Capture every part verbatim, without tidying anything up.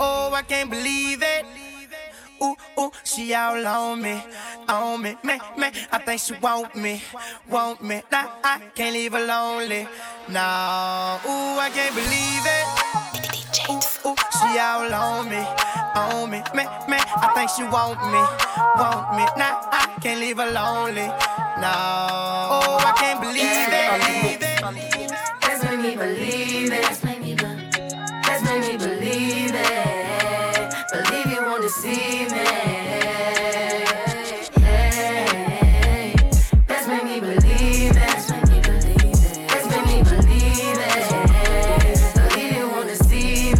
oh, I can't believe it. Ooh, ooh, she all on me, on me, man, man. I think she want me, want me. Nah, I can't leave her lonely. No, ooh, I can't believe it. Ooh, ooh, she all on me, on me, man, man. I think she want me, want me. Nah, I can't leave her lonely. No, oh, I can't believe it. Let's make me believe it. Let's make me believe it. Let's make me believe it. Believe you won't deceive me. Hey, let's make me believe it. Let's make me believe it. Let's make me believe it. Believe you won't deceive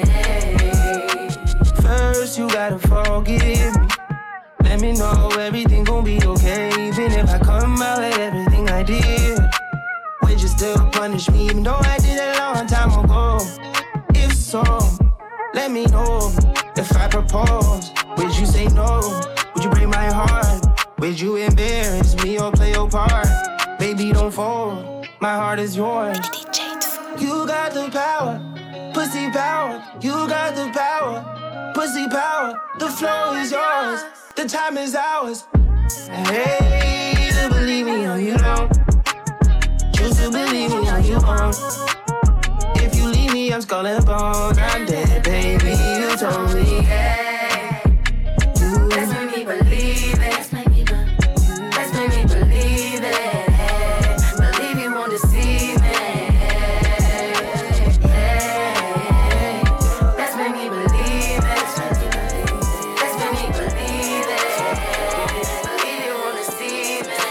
me. First you gotta forgive me. Let me know everything gon' be okay. Even if I come out like everything I did, would you still punish me even though I did it a long time ago? If so, let me know. If I propose, would you say no? Would you break my heart? Would you embarrass me or play your part? Baby, don't fold, my heart is yours. You got the power, pussy power. You got the power, pussy power. The flow is yours, the time is ours. Hey, to believe me or you don't. Choose to believe me or you won't. If you leave me, I'm skull and bones. I'm dead, baby, you told me. Hey, let's make me believe it. Let's make me believe. Let's make me believe it. Believe you won't deceive me. Hey, let's make me believe it. Let's make me believe. Let's make me believe it. Believe you won't deceive me.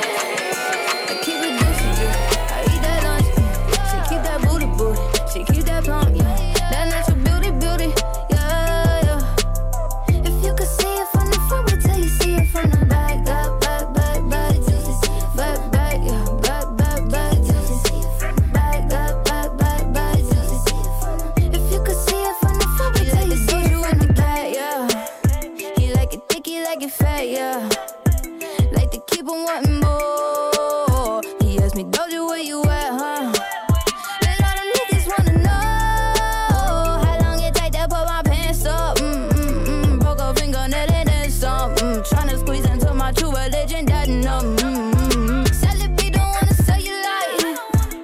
I keep it juicy, juicy. I eat that lunch. She keep that booty, booty. She keep that plump, yeah. That natural beauty, beauty, yeah, yeah. If you could see it from the front, wait till you see it from the back. Back, back, back, back, juicy. Back, back, yeah. Back, back, back, juicy. Back, back, back, back, back, juicy. If you could see it from the front, wait till you see it from the back, yeah. He like it thick, he like it fat, yeah. Like to keep on wanting more. He asked me, Doja, where you at, huh? And all the niggas wanna know how long it take to put my pants up. Mm, mm, mm. Broke a fingernail and then some. Mm. Tryna squeeze into my true religion, that no. Mm, mm, mm. Sell it, be don't wanna sell you like.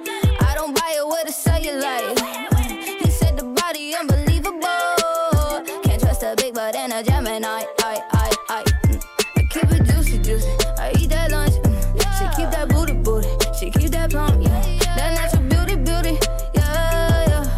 I don't buy it with a cellulite. He said the body unbelievable. Can't trust a big butt and a Gemini. I, I, I, mm. I keep it juicy, juicy. I eat that lunch. Mm. She keep that booty, booty. She keep that plump, yeah. That natural beauty, beauty, yeah, yeah.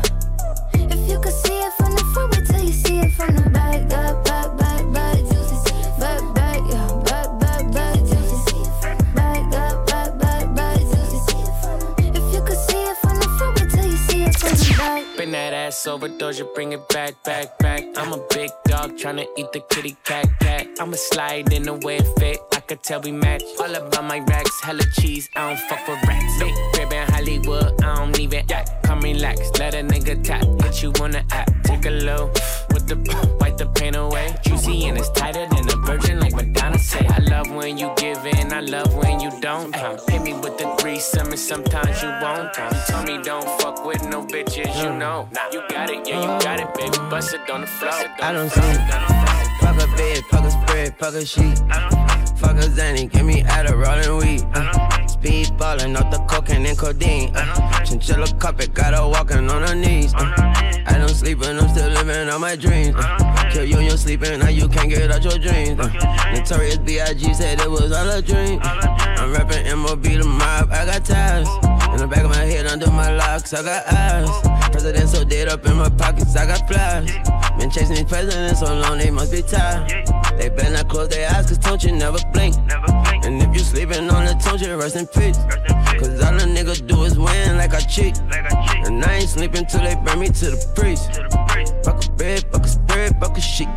If you could see it from the front, wait till you see it from the back. Back, back, back, back, juicy. Back, back, yeah. Back, back, back, juicy. Back, back, back, back, back, juicy. If you could see it from the front, wait till you see it from the back. Bring that ass over, Doja, bring it back, back, back. I'm a big dog tryna eat the kitty cat, cat. I'ma slide in the way it fit, I could tell we match. All about my racks, hella cheese, I don't fuck with rats. Big crib in Hollywood, I don't even act. Come relax, let a nigga tap, hit you on the app. Take a low, with the, wipe the pain away. Juicy and it's tighter than a virgin, like Madonna say. I love when you give in, I love when you don't. Uh, hit me with the threesome and sometimes you won't. Uh, you told me don't fuck with no bitches, you know. Nah, you got it, yeah, you got it, baby. Bust it on the floor. I don't see it. Fuck a bed, fuck a spread, fuck a sheet. Fuck a Zanny, give me Adderall and weed. Uh, speed ballin' off the cocaine and codeine. Uh, chinchilla carpet, got her walking on her knees. Uh, I don't sleep and I'm still living on my dreams. Uh, kill you and you're sleeping, now you can't get out your dreams. Uh, Notorious B I G said it was all a dream. I'm rapping M O B the mob, I got ties. In the back of my head, under my locks, I got eyes. President so dead up in my pockets, I got flies. Been chasing these presidents so long, they must be tired. They better not close their eyes, cause don't you never blink. And if you sleeping on the tone, you rest in peace. Cause all a nigga do is win like I cheat. And I ain't sleeping till they bring me to the priest. Fuck a bed, fuck a spread, fuck a sheet.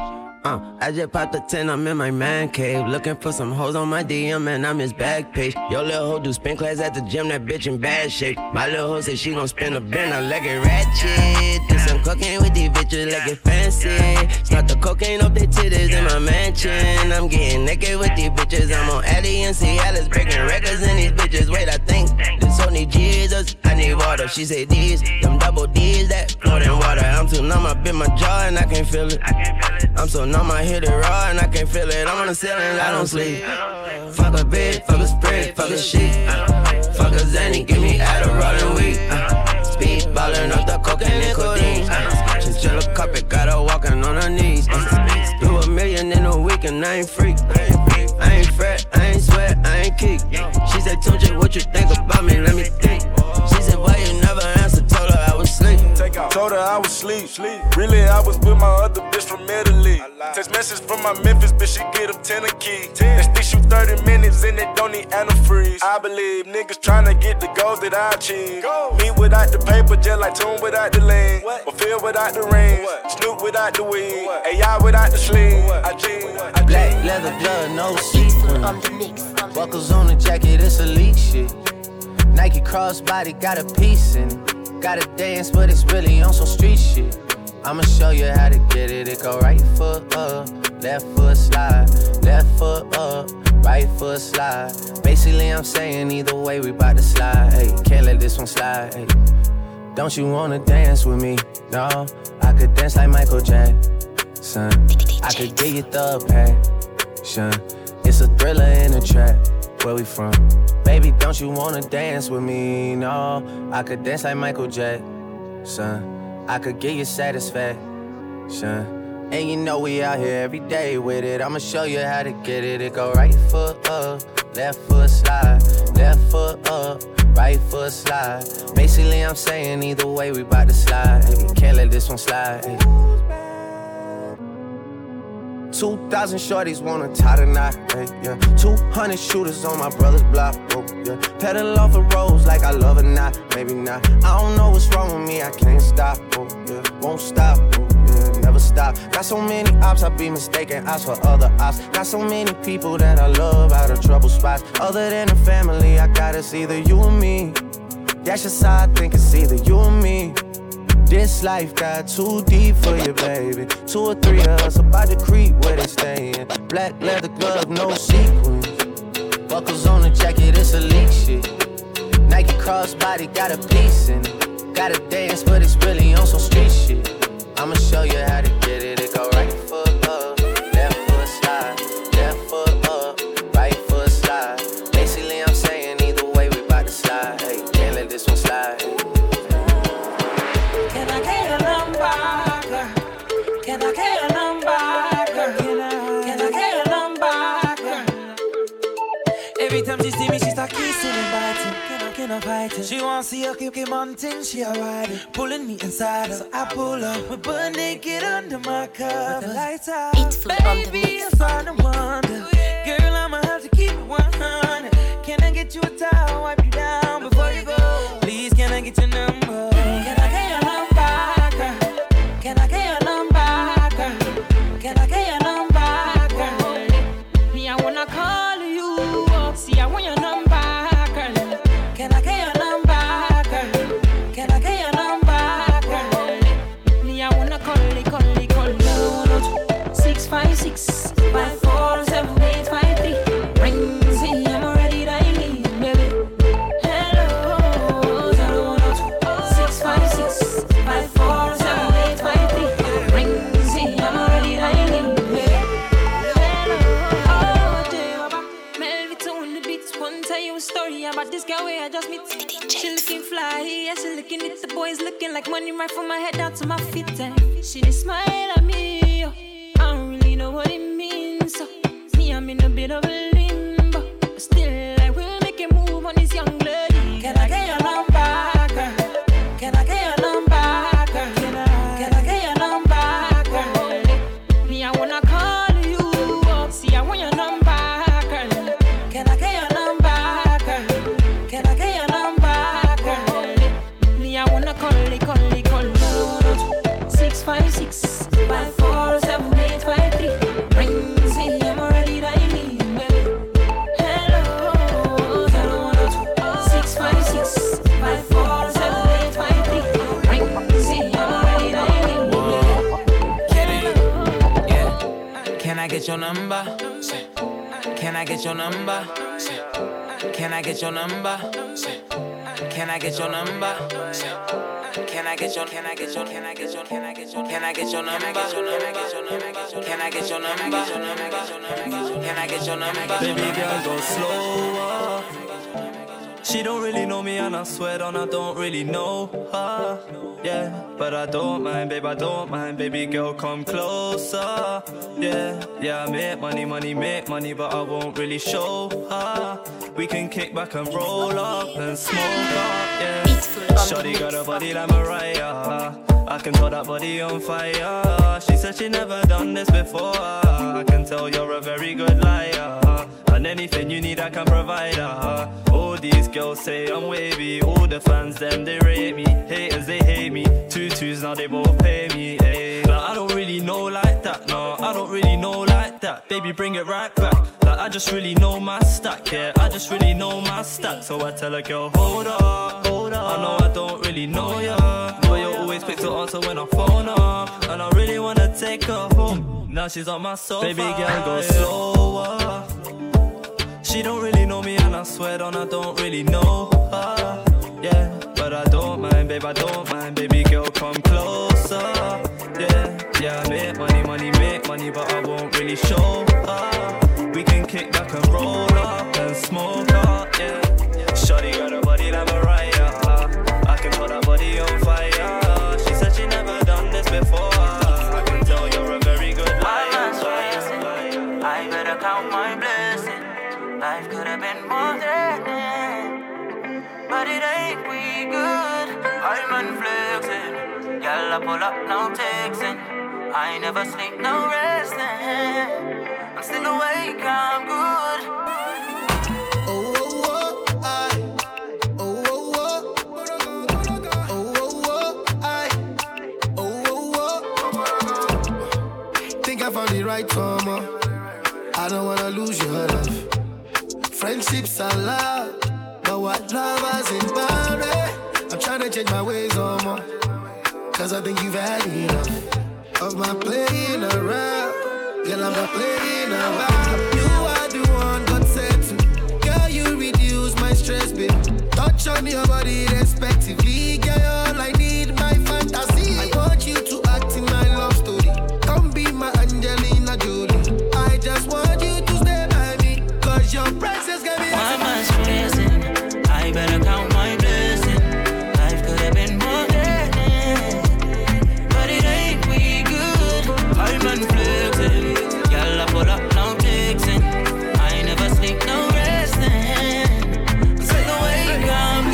Uh, I just popped a ten, I'm in my man cave. Looking for some hoes on my D M and I'm his back page. Yo, little hoe do spin class at the gym, that bitch in bad shape. My little hoe said she gon' spin a bin, I like it ratchet. Do some cocaine with these bitches, like it fancy. Start the cocaine off their titties in my mansion. I'm getting naked with these bitches, I'm on Addy and Cialis, breaking records in these bitches. Wait, I think this hoe need Jesus, I need water. She say these, them double D's that float in water. I'm too numb, my bitch bit my jaw and I can't feel it. I'm so numb, I hit it raw and I can't feel it. I'm on the ceiling, I don't sleep. Fuck a bed, fuck a spread, fuck a sheet. Fuck a Zanny, give me Adderall and weed. Uh, speed ballin' off the cocaine and codeine. Uh, chinchilla carpet, got her walking on her knees. Uh, do a million in a week and I ain't free. I ain't fret, I ain't sweat, I ain't keep. She said, Tunja, what you think about me? Let me think. She said, why you never answer? Told her I was asleep. Told her I was sleep. Really, I was with my other bitch from Italy. Text message from my Memphis bitch, she get them ten a key. They stick shoot thirty minutes and they don't need antifreeze. I believe niggas tryna get the goals that I achieve. Me without the paper, just like Tune without the lean. Fulfill without the rings. Snoop without the weed. A I without the sleeve. I G. Black leather glove, no sequins. Buckles on the jacket, it's elite shit. Nike crossbody got a piece in it. Gotta dance, but it's really on some street shit. I'ma show you how to get it. It go right foot up, left foot slide. Left foot up, right foot slide. Basically, I'm saying either way, we bout to slide. Hey, can't let this one slide. Hey, don't you wanna dance with me? No, I could dance like Michael Jackson. I could get you the passion. It's a thriller in a trap. Where we from? Baby, don't you wanna dance with me? No, I could dance like Michael Jackson. I could give you satisfaction. And you know we out here every day with it. I'ma show you how to get it. It go right foot up, left foot slide. Left foot up, right foot slide. Basically, I'm saying either way, we bout to slide. Hey, can't let this one slide. Hey. Two thousand shorties wanna tie the knot, hey, yeah. Two hundred shooters on my brother's block, oh, yeah. Pedal off the roads like I love or not, maybe not. I don't know what's wrong with me, I can't stop, oh, yeah. Won't stop, oh, yeah, never stop. Got so many ops, I be mistaken ops for other ops. Got so many people that I love out of trouble spots. Other than the family, I got it's either you or me. That's just how I think it's either you or me. This life got too deep for you, baby. Two or three of us about to creep where they stayin'. Black leather glove, no sequins. Buckles on the jacket, it's elite shit. Nike crossbody got a piece in it. Gotta dance, but it's really on some street shit. I'ma show you how to get it. It go right foot up, left foot slide. Left foot up, right foot slide. Basically, I'm saying either way, we bout to slide. Hey, can't let this one slide. Hey. Can I get a number, girl? Can I get a number, girl? Can I get a number, girl? Every time she see me, she start kissing and biting. Can I, can I fight it? She wants to see her keep, keep on thing, she a ride it. Pulling me inside her, so I pull up. We're butt naked under my cover. With the lights out. Baby, I'm starting to wonder. Girl, I'ma have to keep it one hundred. Can I get you a towel, wipe you down before you go? Please, can I get your number? Can I get your number, girl? Can I get your number, girl? Can I get your number, girl? Me, I wanna call you up. See, I want your number, girl. Can I get your number, girl? Can I get your number, girl? Me, I wanna call it, call it, call it. Six five six five four seven eight five three. Ring, see, I'm already dialing, baby. Hello, zero one two six five six five four seven eight five three. Ring, see, I'm already dialing, baby. Hello, oh, dear. Melody on the beats. One tell you a story about this girl where I just meet. She looking fly, yeah, she looking at the boys looking like money right from my head down to my feet. And she did smile at me, oh. I don't really know what it means, so me, I'm in a bit of a limbo, but still I will make a move on this young lady. Can I get your number, girl? Can I get your number, girl? Can I, can I get your number, girl? Me, I wanna call you up. See, I want your number, girl. Can I get your number, girl? Can I get your number, girl? Me, I wanna call it, call it, call it. Six five six five four seven eight five three. Ring, see, I'm already dialing, baby. Hello, zero one two six five six five four seven eight five three. Ring, see, I'm already dialing, baby. Kenny, yeah. Can I get your number? Can I get your number? Can I get your number? Can I get your number? Can I get your, can I get your, can I get your, can I get your, can I get your number? Can I get your number? Can I get your number? Baby girl, go slower. She don't really know me and I swear on I don't really know her. Yeah, but I don't mind, babe, I don't mind. Baby girl, come closer. Yeah, yeah, I make money, money, make money, but I won't really show her. We can kick back and roll up and smoke up, yeah. Shawty got a body like Mariah. I can tell that body on fire. She said she never done this before. I can tell you're a very good liar. And anything you need I can provide her. All these girls say I'm wavy. All the fans them they rate me. Haters they hate me. Two twos now they both pay me. Ay. Like I don't really know like that. No, I don't really know like that. Baby bring it right back. Like I just really know my stack. Yeah, I just really know my stack. So I tell a girl hold up, hold up. I know I don't really know ya, but you're always quick to answer when I phone up. And I really wanna take her home. Now she's on my sofa. Baby girl go slower. She don't really know me and I swear on I don't really know her. Yeah, but I don't mind, babe, I don't mind. Baby girl, come closer. Yeah, yeah, I make money, money, make money, but I won't really show her. We can kick back and roll up and smoke up, yeah. Shawty got a body like Mariah. I can put that body on fire. She said she never done this before. I can tell you're a very good liar. I better count my blessings. Life could have been more threatening, but it ain't we good. I'm unflexing. Y'all I pull up, no texting. I never sleep, no resting. I'm still awake, I'm good. Oh, oh, oh, I. Oh, oh, oh. Oh, oh, oh, I. Oh, oh, oh. Think I found the right karma. I don't wanna lose your love. Friendships are loud, but what lovers in boundary. I'm trying to change my ways on more, cause I think you've had enough of my playing around. Girl, I'm not playing around. You are the one got said to. Girl, you reduce my stress, babe. Touch on your body respectively. Girl, all I need, my fantasy. I want you to act in my love story. Come be my Angelina Jolie. I just want you to stay by me, cause your presence got me. Why am I stressing? I better count my blessings. Life could have been more threatening, but it ain't we good. I'm unflexing. Y'all I pull up, no texting. I never sleep, no resting. Still awake, I'm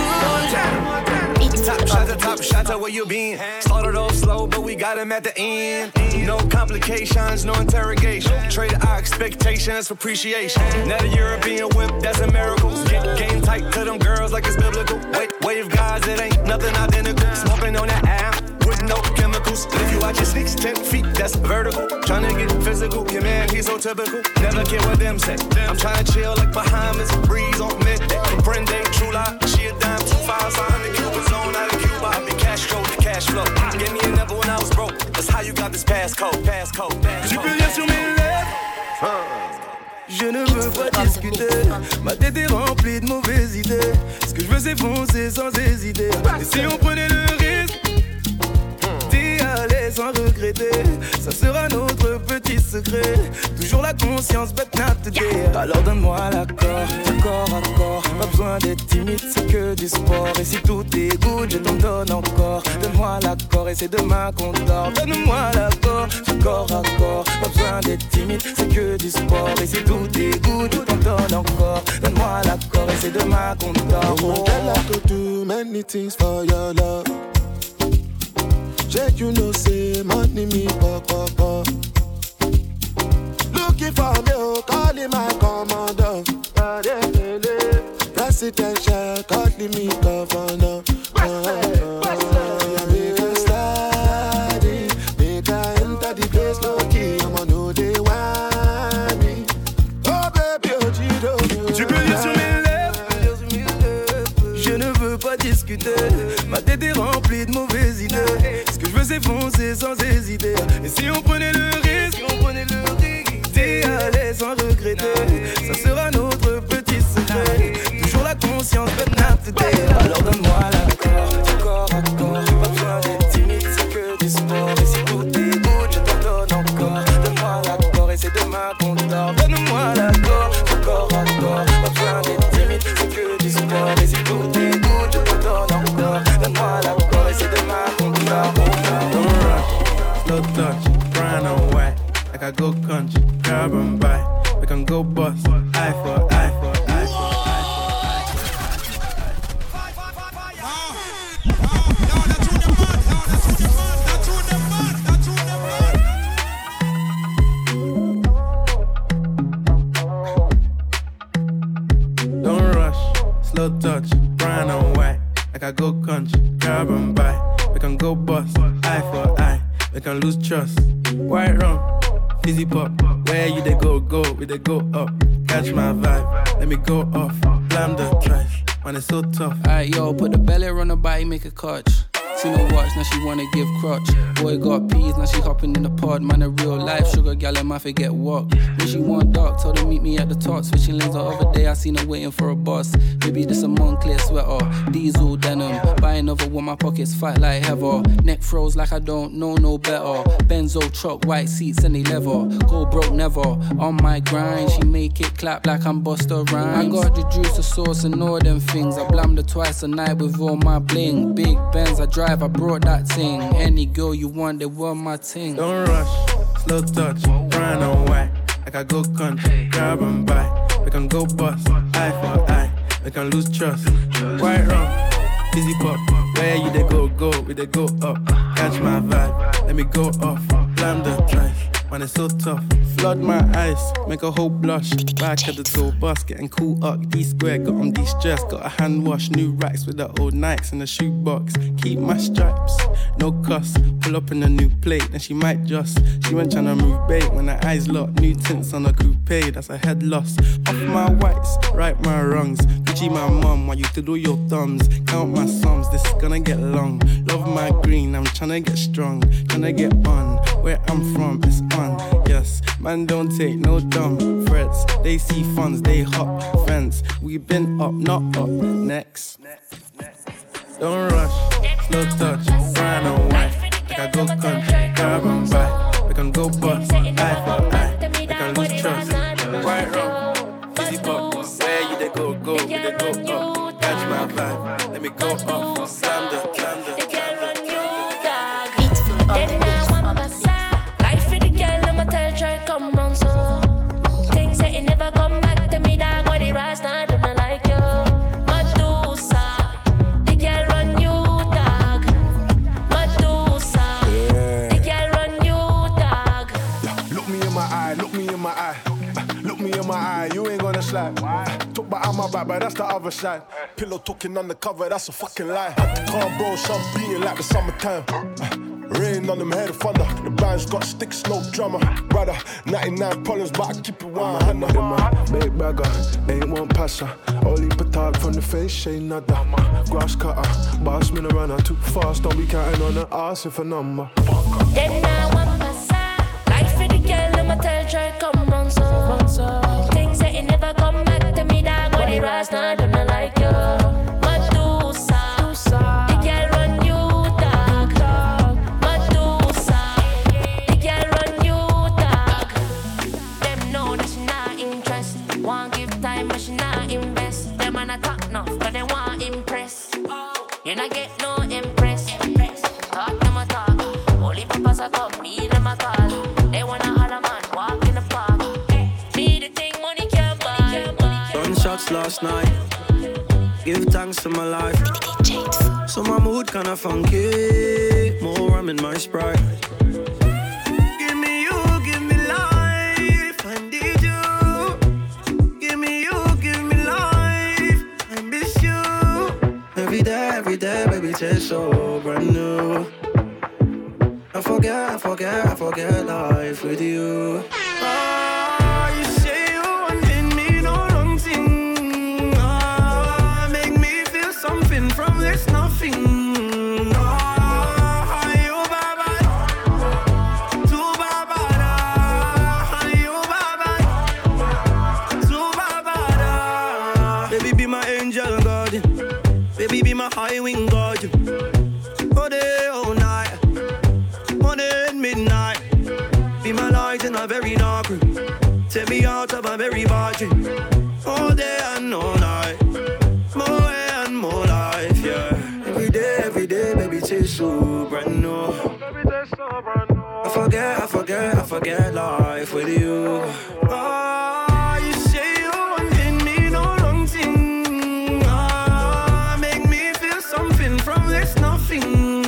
good. Top shot to top shot to where you been. Started off slow, but we got him at the end. No complications, no interrogation. Traded our expectations for appreciation. Now the European whip, that's a miracle. Get game tight to them girls like it's biblical. Wait, wave guys, it ain't nothing identical. Smoking on that app with no chemicals. If you watch your six, ten feet, that's vertical. Tryna get physical, your man, he's so typical. Never care what them say. I'm tryna chill like Bahamas, breeze on midday. Comprende, true lie, she a dime, two fives, I hundred Cuban zone out of Cuba. I be Castro, the cash flow. Gave me a number when I was broke. That's how you got this passcode, passcode, passcode. Tu peux lire sur mes lèvres. Je ne veux pas discuter. Ma tête est remplie de mauvaises idées. Ce que je veux c'est foncer sans hésiter. Et si on prenait le risque d'y aller sans regretter, ça sera notre petit secret. Toujours la conscience bête not today. Alors donne-moi l'accord, corps à corps. Pas besoin d'être timide, c'est que du sport. Et si tout est good, je t'en donne encore. Donne-moi l'accord et c'est demain qu'on dort. Donne-moi l'accord, corps à corps. Pas besoin d'être timide, c'est que du sport. Et si tout est good, je t'en donne encore. Donne-moi l'accord et c'est demain qu'on dort. Oh, girl, I could do many things for your love. Check, you know, say money me pop pop pop. Looking for me, oh, calling my commander. Presidential, calling me governor. Make a study, make a enter the place low key. I'ma know they want me. Oh baby, oh Gido. Tu peux lire sur mes lèvres. Je ne veux pas discuter. Ma tête est remplie de mauvaises idées. Ce que je veux c'est foncer sans hésiter. Et si on prenait le risque, si on prenait le risque d'y aller sans regretter, ça sera notre petit secret. Toujours la ma conscience, but not today. Alors donne-moi l'accord, du corps à corps. Pas besoin d'être timide, c'est que du sport. Et si tout est good, je t'en donne encore. Donne-moi l'accord et c'est demain qu'on dort. Donne-moi l'accord, du corps à corps. Pas besoin d'être timide, c'est que du sport. Et si tout est good, je t'en donne encore. Donne-moi l'accord et c'est demain qu'on dort. Don't rush, slow touch, brown and white. Like I go country, grab and buy. We can go bust, eye for eye for eye for eye for. Don't rush, slow touch, brown and white. Like I go country, grab and buy. We can go bust, eye for eye. We can lose trust. White rum, fizzy pop. Where you they go, go, we they go up. Catch my vibe, let me go off. Blam the trash, man it's so tough. Alright yo, put the belly on her body, make a catch. Seen her watch, now she wanna give crutch. Boy got peas, now she hopping in the pod. Man a real life sugar gal, and my forget walk. When she want dark, told her meet me at the top. Switching lanes the other day, I seen her waiting for a bus. Maybe this a Moncler sweater, diesel denim. Buy another one, my pockets fight like heather. Neck froze like I don't know no better. Benzo truck, white seats and they leather. Go broke never, on my grind. She make it clap like I'm Busta Rhymes. I got the juice, the sauce and all them things. I blammed her twice a night with all my bling. Big Benz, I drive, I brought that thing. Any girl you want, they want my ting. Don't rush, slow touch, brown and white. Like I go country, grab and buy. We can go bust, eye for eye. We can lose trust. White rum, fizzy pop. Where you they go, go, we they go up. Catch my vibe, let me go off. Blam the drive, man it's so tough. Flood my eyes, make a whole blush. Back at the tour bus, getting cool up. D-square, got on de-stress. Got a hand wash, new racks with the old Nikes in the shoebox. Keep my stripes, no cuss. Pull up in a new plate, then she might just. She went tryna move bait when her eyes locked. New tints on a coupe, that's a head loss. Off my whites, right my wrongs. Gucci my mum, while you to do your thumbs. Count my sums, this is gonna get long. Love my green, I'm tryna get strong. Tryna get on, where I'm from, it's on. Yes, man don't take no dumb threats. They see funds, they hop fence. We been up, not up, next. Don't rush, slow touch, brown and white. Like I go country, grab and buy. We can go bust, eye for eye. We can lose trust. White rum, fizzy pop. Where you they go, go, we they go up. Catch my vibe, let me go off. Slam the, slam the, slam the. Life for the girl, I'ma tell try come round so. Things that you never come back to me, dog. What the rise now, do not like you. Medusa, the girl run you, dog. Medusa, the girl run you, dog. Look me in my eye, look me in my eye. Look me in my eye, you ain't gonna slide. Talk about my back, but that's the other side. Pillow talking undercover, that's a fucking lie. Had to calm bro, some beating like the summertime. Rain on them head of thunder. The band's got sticks, no drummer. Brother, ninety-nine problems, but I keep it one hundred. Big bagger, ain't one passer. Only petard from the face, ain't nada. Grass cutter, boss me a runner. Too fast, don't be counting on the ass if a number. Then I want passa. Life for the girl, I'ma tell try come round so. Things that you never come back to me, dog. When the rise now, do not like you. Medusa, the girl run you, dog. Medusa, the girl run you, dog. Them know that she not interest. Want give time, but she not invest. Them man a talk enough, but they want impress. You not get no impress. Talk them a talk. Only papas a come, me them a call. They wanna holler man, walk in the park. Me the thing money can't buy. Gunshots last night. Give thanks to my life. So my mood kinda funky. More rum in my Sprite. Give me you, give me life. I need you. Give me you, give me life. I miss you. Every day, every day, baby, tastes so brand new. I forget, I forget, I forget life with you. Oh, you say you wanted me, no long thing. Oh, make me feel something from this nothing. Oh, you baba, too baba, you baba, too baba. Baby, be my angel, of a berry party. All day and all night. More and more life, yeah. Every day, every day, baby, taste so brand new. I forget, I forget, I forget life with you. Oh, you say you want me, no wrong thing. Ah, make me feel something from this nothing.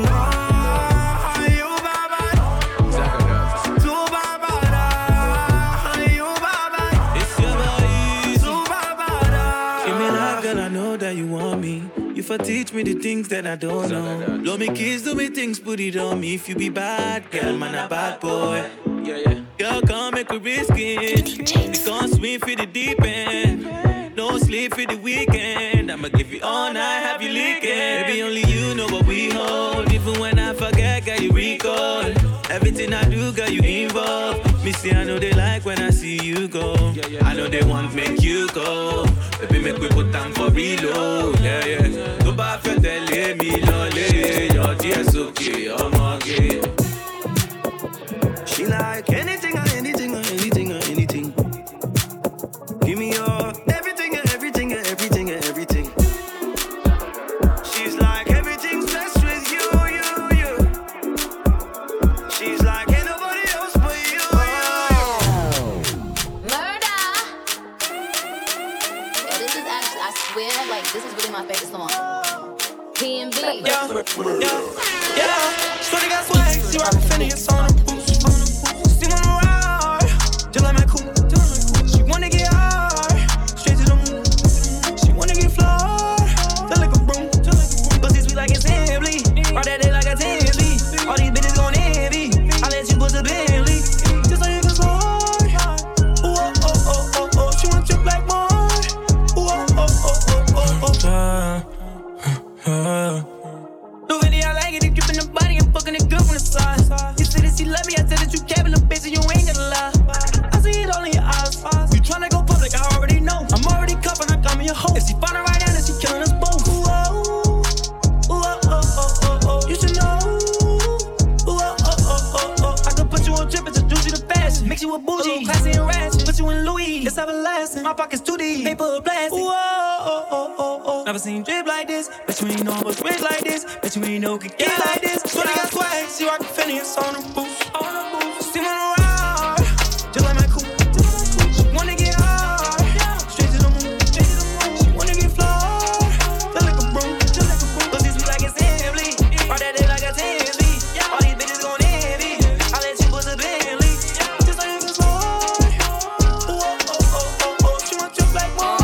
For teach me the things that I don't know. Love me kiss, do me things, put it on me. If you be bad, girl, man, a bad boy. Yeah, yeah. Girl, come make we risk it. We can't swim for the deep end. No sleep for the weekend. I'ma give you all night, have you leaking. Baby, only you know what we hold. Even when I forget, girl, you recall. Everything I do, girl, you involved. Me see, I know they like when I see you go. I know they want make you go. Baby, make we put time for reload. Yeah, yeah. Go back and tell me, lolly. Your tears okay, I'm okay. She like anything or anything or anything or anything. Give me your everything and everything and everything and everything. She's like everything's blessed with you, you, you. She's like ain't nobody else but you, you, you. Murder. Yeah, this is actually, I swear, like this is really my favorite song. P and B. Yeah, yeah, yeah. Shorty got swag, she rockin' Fendi, it's on the boost. See when I'm around, just like my cool. She wanna get hard, straight to the moon. She wanna get flawed, just like a broom. Pussy sweet like it's Emily, all that day like a Timmy. All these bitches gon' envy, I let you put a Bentley. Just so you can slide. Ooh, oh, oh, oh, oh, oh. She want your black boy. Ooh, oh, oh, oh, oh, oh, oh. Uh, New video, I like it. If drippin' the body and fucking it good from the side. You said that she love me, I said that you capping the bitch and you ain't gonna lie. I see it all in your eyes. You tryna go public, I already know. I'm already cuffin', I got me a hoe. If she find her right now, then she killin' us both. Ooh, oh, ooh, oh, oh, oh, oh, oh. You should know. Ooh, oh, oh, oh, oh, oh. I could put you on trip, introduce you to fashion. Mix you with bougie, classy and ratchet. Put you in Louis, it's everlasting. My pockets too deep, paper plastic. Ooh, oh, oh, oh, oh, oh. Never seen drip like this, but you ain't know what's rich like this. Bet you ain't know could get like this. Shorty got swag, she rockin' Fendi, it's on the boost. On the boost. See when I'm around, just like my cool. She wanna get hard, straight to the moon. She wanna get flawed, just like a broom. Pussy sweet like it's Emily, all that day like a Timmy. All these bitches gon' envy, I let you put a Bentley. Just so you can slide. Ooh, oh, oh, oh, oh, oh. She want your black boy.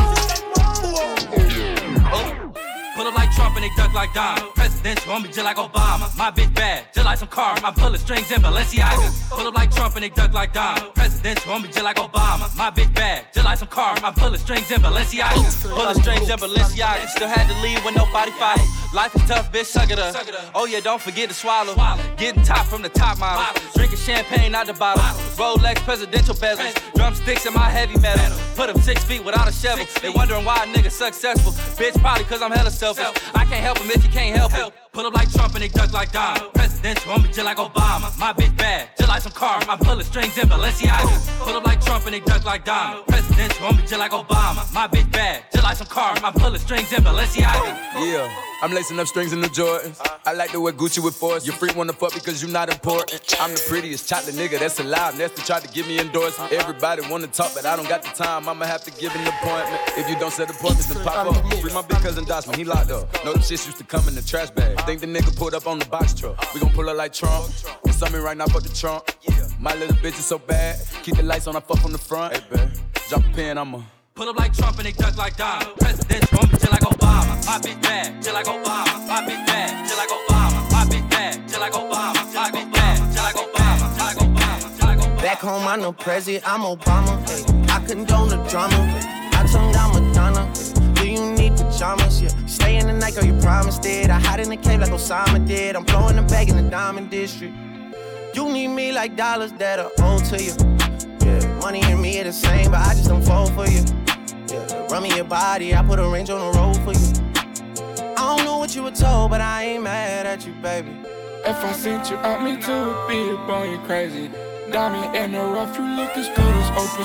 Pull up like Trump and they duck like Don. Presidential on me just like Obama. My bitch bad, just like some car. I'm pulling strings in Balenciaga. Pull up like Trump and they duck like Don. Presidential on me just like Obama. My bitch bad, just like some car. I'm pulling strings in Balenciaga. Pulling strings in Balenciaga. Still had to leave when nobody followed. Life is tough, bitch, suck it up. Oh yeah, don't forget to swallow. Getting top from the top model. Drinking champagne out the bottle. Rolex presidential bezels. Drumsticks in my heavy metal. Put them six feet without a shovel. They wondering why a nigga successful. Bitch, probably cause I'm hella selfish. I can't help him if you can't help it. Pull up like Trump and they duck like Don. Presidential on me just like Obama. My bitch bad, just like some car. I'm pulling strings in Balenciaga. Pull up like Trump and they duck like Don. Presidential on me just like Obama. My bitch bad, just like some car. I'm pulling strings in Balenciaga. Yeah, I'm lacing up strings in the Jordans. I like to wear Gucci with force. Your freak wanna fuck because you not important. I'm the prettiest chocolate nigga that's alive. Nasty tried to give me endorsement. Everybody wanna talk, but I don't got the time. I'ma have to give an appointment. If you don't set appointments, then pop up. Free my big cousin Dosman, he locked up. Know them shits used to come in the trash bag. Think the nigga pulled up on the box truck. We gon' pull up like Trump. It's something right now, fuck the trunk. My little bitch is so bad. Keep the lights on, I fuck from the front. Hey, babe, drop a pin, I'ma pull up like Trump and they duck like Don. Presidential on me just like Obama. My bitch bad, just like Obama. My bitch bad, just like Obama. My bitch bad, just like Obama. My bitch bad, just like Obama. Just like Obama. Just like Obama. Back home, I'm no president, I'm Obama. Ay, I condone the drama. I tongue down Madonna. Do you need pajamas? Yeah. Stay in the night, girl, you promised it. I hide in the cave like Osama did. I'm blowing the bag in the diamond district. You need me like dollars that are owed to you. Yeah, money and me are the same, but I just don't fall for you. Yeah, run me your body, I put a range on the road for you. I don't know what you were told, but I ain't mad at you, baby. If I sent you out, me too would be up on you crazy. Diamond in the rough, you look as good as Oprah's back.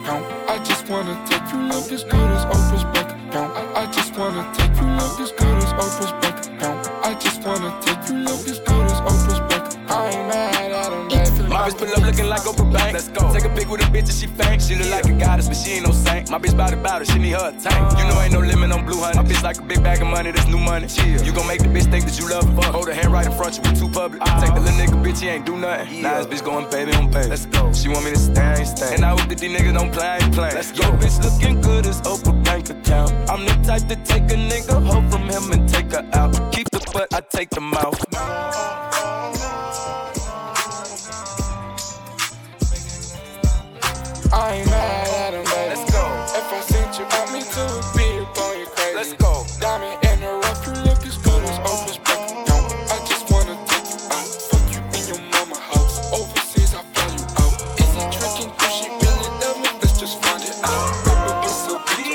account. I just wanna take you look as good as Oprah's bank account. I, I just wanna take you look as good as Oprah's bank account. I just wanna take you look as good as Oprah's bank account. I ain't mad at him, baby. My bitch pull up looking like Oprah Bank. Let's go. Take a pic with a bitch and she faint. She look like a goddess, but she ain't no saint. My bitch bout it, bout it, she need her a tank. You know ain't no limit on blue honey. My bitch like a big bag of money, that's new money. Chill. You gon' make the bitch think that you love her. Hold her hand right in front, you be too public. I take the little nigga, bitch, he ain't do nothing. Yeah. Now this bitch going baby on baby. Let's go. She want me to stay, I ain't stay. And I hope that these niggas don't play, I ain't playing. Let's go. Yo, bitch looking good as Oprah bank account. I'm the type to take a nigga, hoe from him and take her out. Keep the butt, I take the mouth. I ain't mad at him, baby. Let's go. If I sent you out, me too, would be upon you crazy. Let's go. Diamond in the rough, you look as good as Oprah's bank account. I just wanna take you out, fuck you in your mama house. Overseas, I fly you out. Is he tricking? Do she really love me? Let's just find it out. Baby, it's so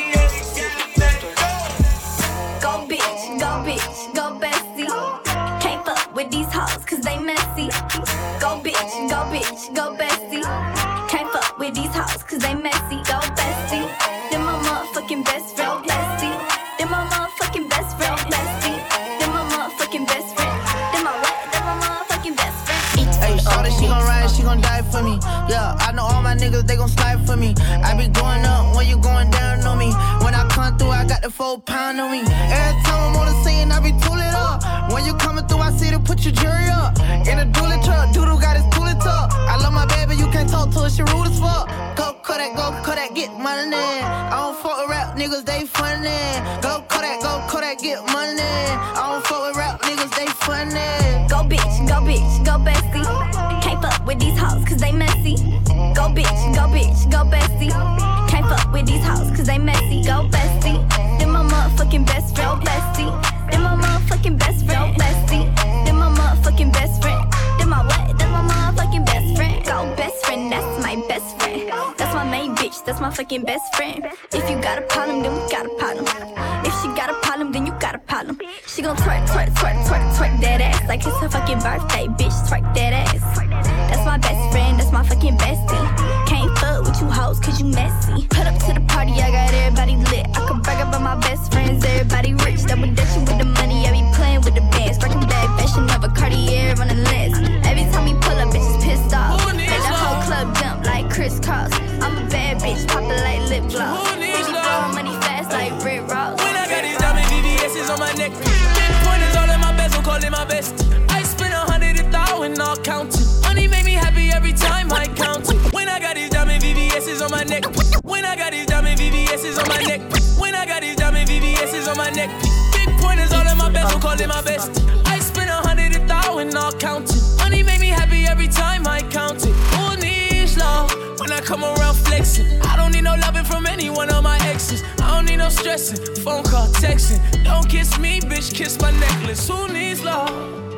Go bitch, go bitch, go bestie. Can't fuck with these hoes, cause they messy. Go bitch, go bitch, go bestie. Can't fuck with these hoes, cause they messy. Go bestie. Then my motherfucking best friend, bestie. Then my motherfucking best friend, bestie. Then my motherfucking best friend. Then my what? Then my motherfucking best friend. Hey, shorty, she gon' ride, she gon' die for me. Yeah, I know all my niggas, they gon' slide for me. I be going up when you going down on me. When I come through, I got the four pound on me. Every time I'm on the scene, I be tooling up. When you coming through, I see to put your jury up. In a dually truck, doodle got his tooling tuck. I love my baby, you can't talk to her, she rude as fuck. Go Kodak, go Kodak, get money. I don't fuck with rap niggas, they funny. Go Kodak, go Kodak, get money. I don't fuck with rap niggas, they funny. Go bitch, go bitch, go bestie. Can't fuck with these hoes, cause they messy. Go bitch, go bitch, go bestie. Can't fuck with these hoes, cause they messy. Go bestie. Then my motherfucking best friend, bestie. Then my motherfucking best friend, bestie. Then my motherfucking best friend. Then my what? Then my motherfucking best friend. Go best friend, that's my best friend. That's my main bitch, that's my fucking best friend. If you got a problem, then we got a problem. If she got a problem, then you got a problem. She gon' twerk, twerk, twerk, twerk, twerk that ass like it's her fucking birthday, bitch. Twerk that ass. That's my best friend, that's my fucking bestie. Can't fuck with you hoes, cause you messy. Put up to the party, I got everybody lit. I can brag about my best friends, everybody rich. Double dutching with the money, I be playing with the bands. Breaking bad fashion of a Cartier on the list. Every time he pull up, bitches pissed off. Make the whole club jump like crisscross. I'm a bad bitch, poppin' like lip gloss. He be throwing money fast like Rick Ross. When I got these diamond V V S's on my neck, big pointers all in my bezel, call it my best. I spend a hundred a thousand, all counting. Money make me happy every time I count it. When I got these diamond V V S's on my neck, when I got these diamond V V S's on my neck, when I got these diamond V V S's on my neck, big pointers all in my bezel, call it my best. I spend a hundred a thousand, all counting. Money make me happy every time I count it. Who needs love when I come around flexing? I don't need no loving from any one of my exes. I don't need no stressing, phone call, texting. Don't kiss me, bitch, kiss my necklace. Who needs love?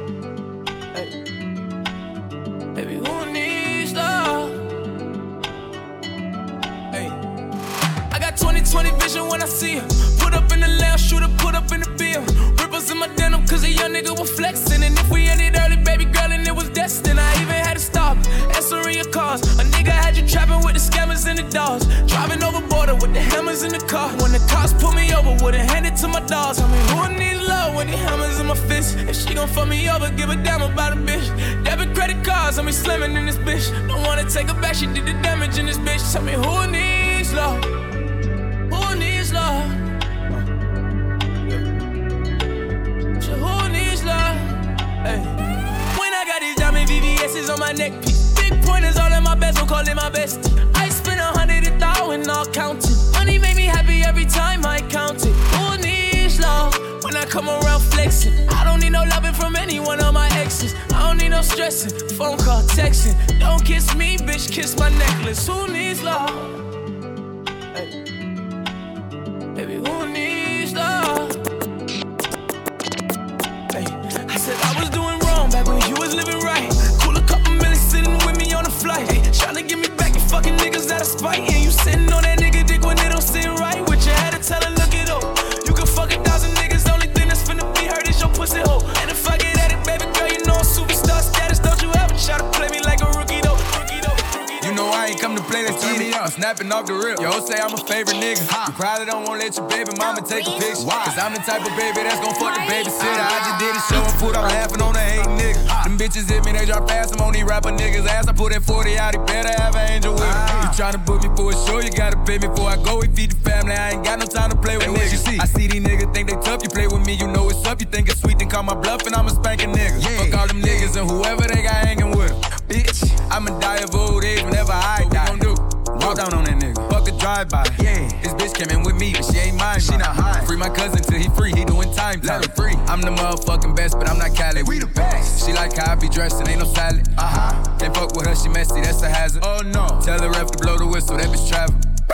Hey. Baby, who needs love? Hey. I got twenty twenty vision when I see her. Put up in the lounge, shooter, put up in the bill. Ripples in my denim, cause a young nigga was flexing. And if we ended early, baby girl, and it was destined, I even had to stop, answering your calls. A nigga had you trapping with the scammers and the dogs. Driving over border with the hammers in the car. When the cops pull me over, wouldn't hand it to my dogs. I mean, who needs love when the hammers in my fist? If she gon' fuck me over, give a damn about a bitch. Debit credit cards, I mean, slamming in this bitch. Don't wanna take her back, she did the damage in this bitch. Tell me who needs love? Who needs love? So who needs love? Hey. When I got these diamond V V S's on my neck piece, big pointers all in my bezel, call it my bestie. I spend a hundred a thousand, all counting. Money make me happy every time I count it. Who needs love when I come around flexing? I don't need no loving from any one of my exes. I don't need no stressing, phone call, texting. Don't kiss me, bitch, kiss my necklace. Who needs love? Hey. Baby, who needs love? Hey. I said I was doing wrong back when you was living right. Cool a couple minutes sitting with me on the flight. Hey. Tryna get me back, you fucking niggas out of spite. And you sitting on that nigga dick when it don't sit right. With your head to tell her, look it up. You can fuck a thousand niggas, the only thing that's finna be hurt is your pussy hole. And if I get at it, baby girl, you know I'm superstar status. Don't you ever try to play me like a rookie though. Rookie though. Rookie though. You know I ain't come to play, let's turn me up. I'm snapping off the rip. Yo, say I'm a favorite nigga. You probably don't wanna let your baby mama take a picture. Why? Cause I'm the type of baby that's gon' fuck the babysitter. I just did a show and put on laughing on the hate nigga. Them bitches hit me, they drop fast. I'm on these rapper niggas' ass. I put that forty out, he better have an angel with him. You tryna book me for a show, you gotta pay me before I go. We feed the family, I ain't got no time to play with hey, niggas. You see? I see these niggas think they tough, you play with me, you know it's up. You think it's sweet, then call my bluff and I'm a spanking nigga. Yeah. Fuck all them niggas and whoever they got hanging with them. Bitch, I'ma die of old age whenever I what die. What we gon' do? Walk down on that nigga. Fuck a drive-by. Yeah. This bitch came in with me, but she ain't mine. She not high. Free my cousin till he free. He doing time. Let her free. I'm the motherfucking best, but I'm not Cali. We the best. She like how I be dressed and ain't no salad. Uh-huh. Can't fuck with her, she messy. That's a hazard. Oh no. Tell the ref to blow the whistle. That bitch travel.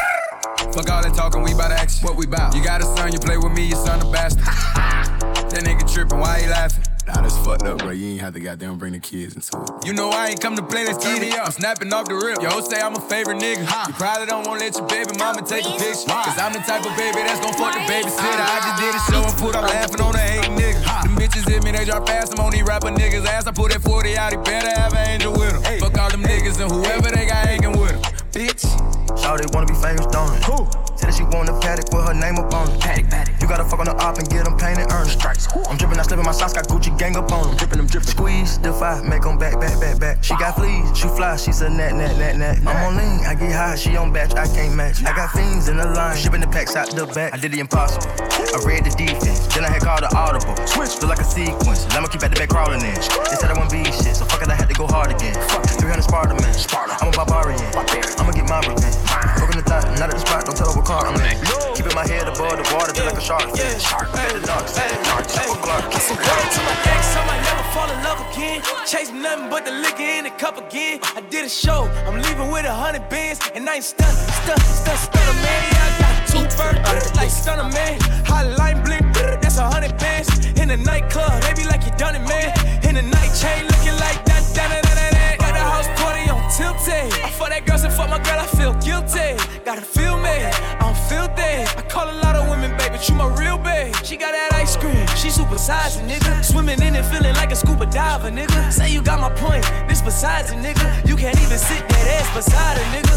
Fuck all that talking, we bout action. What we bout? You got a son, you play with me, your son a bastard. That nigga trippin', why he laughing? Nah, that's fucked up, bro. You ain't have to goddamn bring the kids into it. You know I ain't come to play, let's get it. I'm snapping off the rip. Yo, say I'm a favorite nigga. Huh. You probably don't wanna let your baby mama take a picture. Why? Cause I'm the type of baby that's gon' fuck the babysitter. I just did a show and put on laughing on the hate nigga. Huh. Them bitches hit me, they drop fast. I'm on these rapper niggas' ass. I put that forty out, he better have an angel with him. Hey. Fuck all them niggas and whoever they got hanging with him. Bitch. Shawty wanna be famous, don't it? Who? Said that she want a paddock with her name up on it. Paddock, paddock. You gotta fuck on the op and get them paid and earn it. Strikes. I'm drippin', I slippin' my socks, got Gucci gang up on them. Drippin' them, drippin'. Squeeze, defy, make them back, back, back, back. She got fleas, she fly, she's a nat, nat, nat, nat. I'm on lean, I get high, she on batch, I can't match. I got fiends in the line, shipping the packs out the back. I did the impossible, I read the defense, then I had called the audible. Switch, feel like a sequence, I'ma keep at the back crawling in. They said I wouldn't be shit, so fuck it, I had to go hard again. three hundred Sparta, man. I'm a barbarian, I'ma get my revenge. Broken the thought, not at the spot, don't tell her what car I'm in. Keeping my head above the water, feel like a shark. Yeah, shark. Hey, the dark side, dark side. I said, word to my ex, I might never fall in love again. Chasing nothing but the liquor in the cup again. I did a show, I'm leaving with a hundred bands, and I ain't stunned, stunned, stunned, stunned, man. I got two birds, like stunner, man. Hotline blink, that's a hundred bands. In the nightclub, they be like you done it, man. In the night chain, looking like that, that, that, that, that. Got the house party on tilted. I fuck that girl, so fuck my girl, I feel guilty. Gotta feel me, I'm filthy. I call a lot of women, baby, you my real babe. She got that ice cream, she super sized, nigga. Swimming in it, feeling like a scuba diver, nigga. Say you got my point, this besides it, nigga. You can't even sit that ass beside a nigga.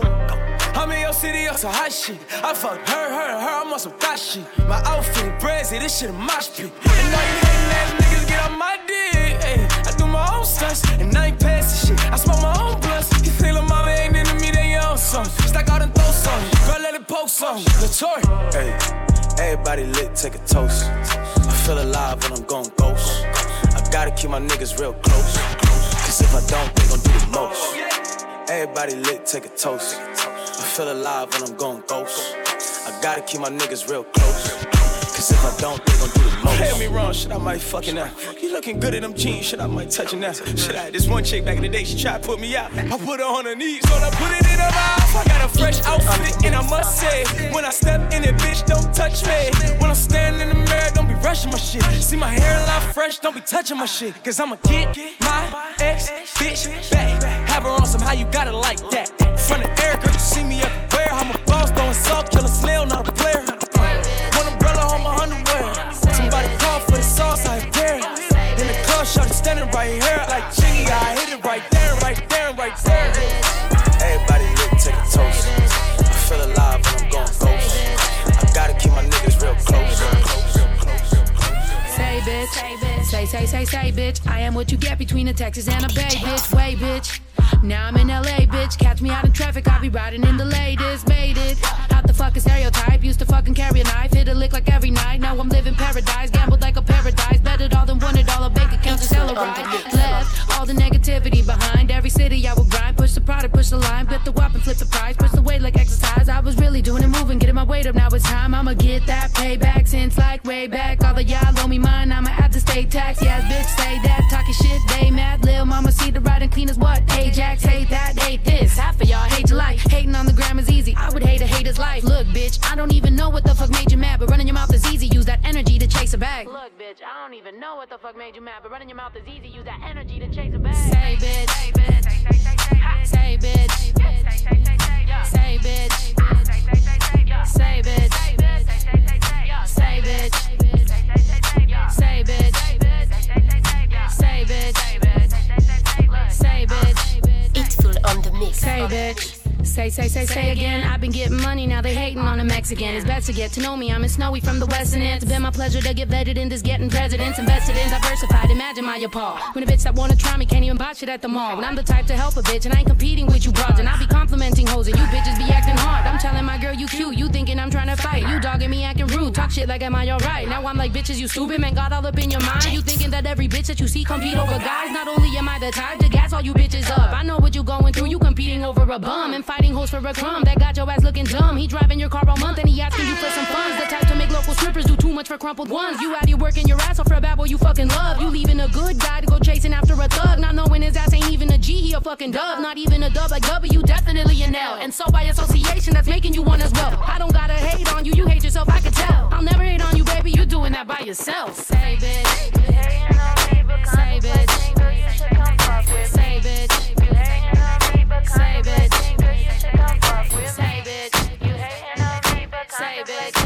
Whoa, I'm in your city, on some hot shit. I fucked her, her, her, I'm on some thot shit. My outfit, brazy, this shit a mosh pit. And all you hating ass niggas get on my dick. Ay, I do my own stunts, and I ain't passing shit. I smoke my own blunts. You think la mama ain't into me, they own something. Stack out and throw something, girl, let it poke something. Latour. Hey, everybody lit, take a toast. I feel alive when I'm going ghost. I gotta keep my niggas real close. Cause if I don't, they gon' do the most. Everybody lit, take a toast. I feel alive when I'm going ghost. I gotta keep my niggas real close. Cause if I don't, they gon' do the most. Hear me wrong, shit, I might fucking out. You looking good in them jeans, shit, I might touch it now. Shit, I had this one chick back in the day, she tried to put me out. I put her on her knees, so I put it in her mouth. I got a fresh outfit, and I must say, when I step in it, bitch, don't touch me. When I'm standing in the mirror, don't be rushing my shit. See my hairline fresh, don't be touching my shit. Cause I'ma get my ex bitch back. Have her on some how you got it like that. Front of Erica, you see me everywhere. I'm a boss, throwing salt, kill a snail, not a player. One umbrella on my underwear. Somebody call for the sauce, I dare. In the club, shorty standing right here. Like Jiggy, I hit it right there, right there, right there. Everybody lit, take a toast. I feel alive when I'm going ghost. I gotta keep my niggas real close. Say bitch, say, say, say, say bitch. I am what you get between a Texas and a Bay bitch. Way bitch. Now I'm in L A, bitch. Catch me out in traffic, I'll be riding in the latest. Made it. Not the fucking stereotype. Used to fucking carry a knife. Hit a lick like every night. Now I'm living paradise. Gambled like a paradise. Betted all than won it all. A bank account to sell a ride. Left all the negativity behind. Every city I would grind. Push the product, push the line. Bet the weapon, flip the price. Push the weight like exercise. I was really doing it, moving. Getting my weight up. Now it's time. I'ma get that payback. Since like way back. All of y'all owe me mine. I'ma have to stay taxed. Yeah, bitch, say that. Talking shit, they mad. Lil' mama see the riding clean as what? Ajax, hate that, hate this. Half of y'all hate your life. Hating on the gram is easy. I would hate a hater's life. Look, bitch, I don't even know what the fuck made you mad, but running your mouth is easy. Use that energy to chase a bag. Look, bitch, I don't even know what the fuck made you mad, but running your mouth is easy. Use that energy to chase a bag. Say, bitch. Say, bitch. Say, bitch. Say, bitch. Say, bitch. Say, bitch. Say, bitch. Say, bitch. Say, bitch. It's full on the mix. Say, bitch. Say, say, say, say again. I've been getting money, now they hating on a Mexican. It's best to get to know me, I'm in Snowy from the western end. It's been my pleasure to get vetted in this getting presidents. Invested in diversified, imagine my appall. When a bitch that wanna try me can't even buy shit at the mall. When I'm the type to help a bitch and I ain't competing with you broads. And I be complimenting hoes and you bitches be acting hard. I'm telling my girl you cute, you thinking I'm trying to fight. You dogging me acting rude, talk shit like am I alright? Now I'm like bitches you stupid, man got all up in your mind. You thinking that every bitch that you see compete over guys. Not only am I the type to gas all you bitches up, I know what you going through, you competing over a bum and fighting hoes for a crumb. That got your ass looking dumb. He driving your car all month and he asking you for some funds. The type to make local strippers do too much for crumpled ones. You out here working your ass off for a bad boy you fucking love. You leaving a good guy to go chasing after a thug, not knowing his ass ain't even a G, he a fucking dub. Not even a dub like W, definitely an L. And so by association that's making you one as well. I don't gotta hate on you, you hate yourself, I can tell. I'll never hate on you, baby, you doing that by yourself. Say bitch, say bitch, say bitch, say bitch, say bitch, say bitch, say bitch, say bitch.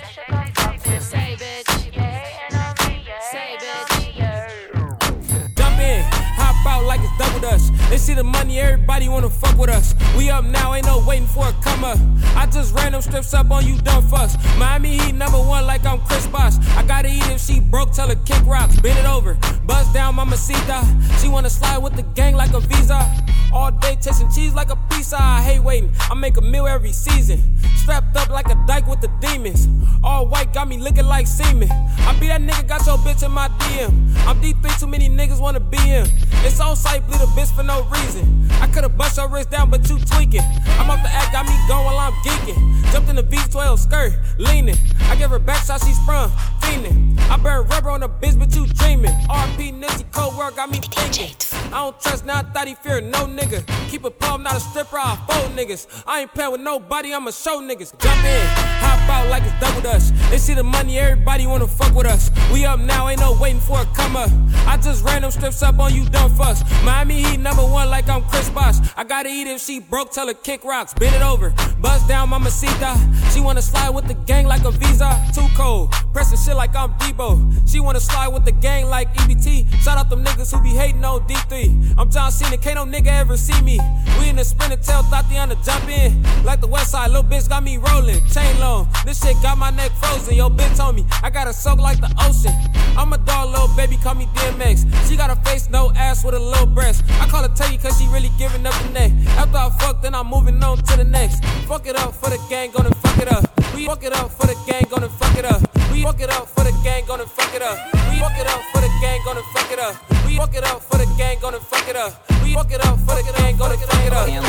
Like it's doubled us. They see the money, everybody wanna fuck with us. We up now, ain't no waiting for a come up. I just ran them strips up on you dumb fucks. Miami Heat number one like I'm Chris Bosh. I gotta eat if she broke, tell her kick rocks. Bend it over, buzz down mamacita. She wanna slide with the gang like a visa. All day tasting cheese like a pizza. I hate waiting, I make a meal every season. Strapped up like a dyke with the demons. All white got me looking like semen. I be that nigga, got your bitch in my D M. I'm D three, too many niggas wanna be him. It's on sight, bleed a bitch for no reason. I could've bust your wrist down, but you tweaking. I'm off the act, got me going while I'm geeking. Jumped in the V twelve skirt, leaning. I give her back shot, she sprung, fiending. I burn rubber on the bitch, but you dreaming. R P Nipsey, cold work, got me thinking. I don't trust now, I thought he feared no nigga. Keep a palm, not a stripper, I fold niggas. I ain't playing with nobody, I'ma show niggas. Jump in, hop out like it's double dutch. They see the money, everybody wanna fuck with us. We up now, ain't no waiting for a come up. I just ran them strips up on you dumb fucks. Miami Heat number one like I'm Chris Bosh. I gotta eat if she broke, tell her kick rocks. Bend it over, buzz down mamacita. She wanna slide with the gang like a visa. Too cold, pressing shit like I'm Debo. She wanna slide with the gang like E B T. Shout out them niggas who be hating on D three. I'm John Cena, can't no nigga ever see me. We in the sprinter tail, thought they on the jump in. Like the west side, little bitch got me rolling. Chain long, this shit got my neck frozen. Yo bitch told me, I gotta soak like the ocean. I'm a dog, little baby, call me D M X. She got a face, no ass with a little breast. I call her Teddy cause she really giving up the neck. After I fuck, then I'm moving on to the next. Fuck it up for the gang, gonna fuck it up. We fuck it up for the gang, gonna fuck it up. We fuck it up for the gang, gonna fuck it up. We fuck it up for the gang, gonna fuck it up. We fuck it up for the gang, gonna fuck it up. We fuck it up for the gang, gonna fuck it up.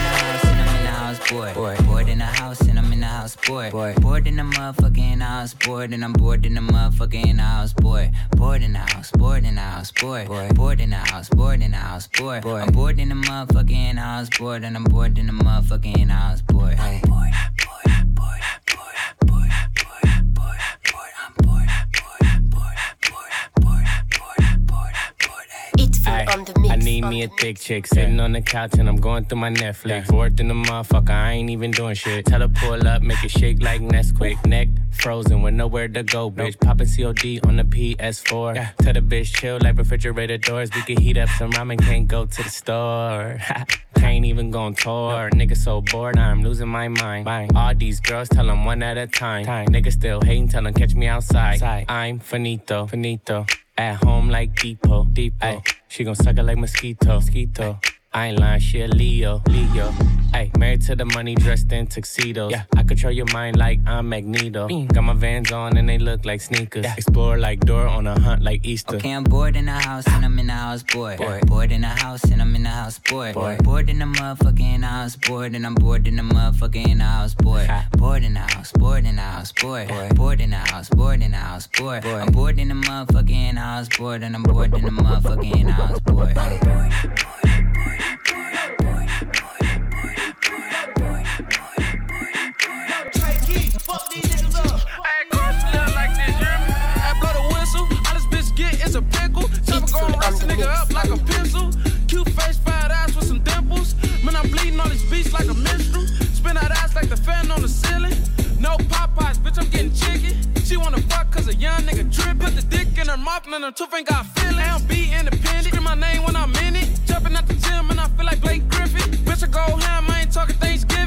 Bored, bored, bored in the house and I'm in the house, bored, bored, bored in the motherfucking house, bored and I'm bored in the motherfucking house, bored, bored in the house, bored in the house, bored, bored, bored in the house, bored in the house, bored, bored, I'm bored in the motherfucking house, bored and I'm bored in the motherfucking house, bored, hey. Bored, bored, bored, bored, bored, bored, bored, bored, I'm bored, bored, bored, bored, bored, bored, bored, It's for Ay, on the mix. I need me a thick chick sitting on the couch and I'm going through my Netflix. Bored in the motherfucker, I ain't even doing shit. Tell her pull up, make it shake like Nesquik. Neck frozen with nowhere to go, bitch. Poppin' C O D on the P S four. Yeah. Tell the bitch chill like refrigerator doors. We can heat up some ramen, can't go to the store. Can't even go on tour. Nigga so bored, I'm losing my mind. Bang. All these girls tell them one at a time. time. Nigga still hating, tell them catch me outside. Side. I'm finito, finito. At home like Depot, Depot. Ay, she gon' suck it like mosquito, mosquito. I ain't lying, she a Leo, Leo. Ay, married to the money, dressed in tuxedos. Yeah, I control your mind like I'm Magneto. Mm. Got my Vans on and they look like sneakers. Yeah. Explore like Dora on a hunt like Easter. Okay, I'm bored in the house and I'm in the house, bored. Bored, bored in the house and I'm in the house, bored. Bored, bored in the motherfucking house, bored and I'm bored in the motherfucking house, bored. Bored in the house, bored in the house, bored. Bored in the house, bored in the house, bored. I'm bored in the motherfucking house, bored and I'm bored in the motherfucking house, bored. Fuck these niggas up. Hey, girl, she look like this, you hear me? I blow the whistle, all this bitch get is a pickle. Time to go and rise a nigga up like a pencil. Cute face, fat ass with some dimples. Man, I'm bleeding on this beach like a minstrel. Spin that ass like the fan on the ceiling. No Popeyes, bitch, I'm getting chicken. She wanna fuck cause a young nigga trip. Put the dick in her mouth and her tooth ain't got feeling. I don't be independent. Scream my name when I'm in it. Jumping at the gym and I feel like Blake Griffin. Bitch, I go ham, I ain't talking Thanksgiving.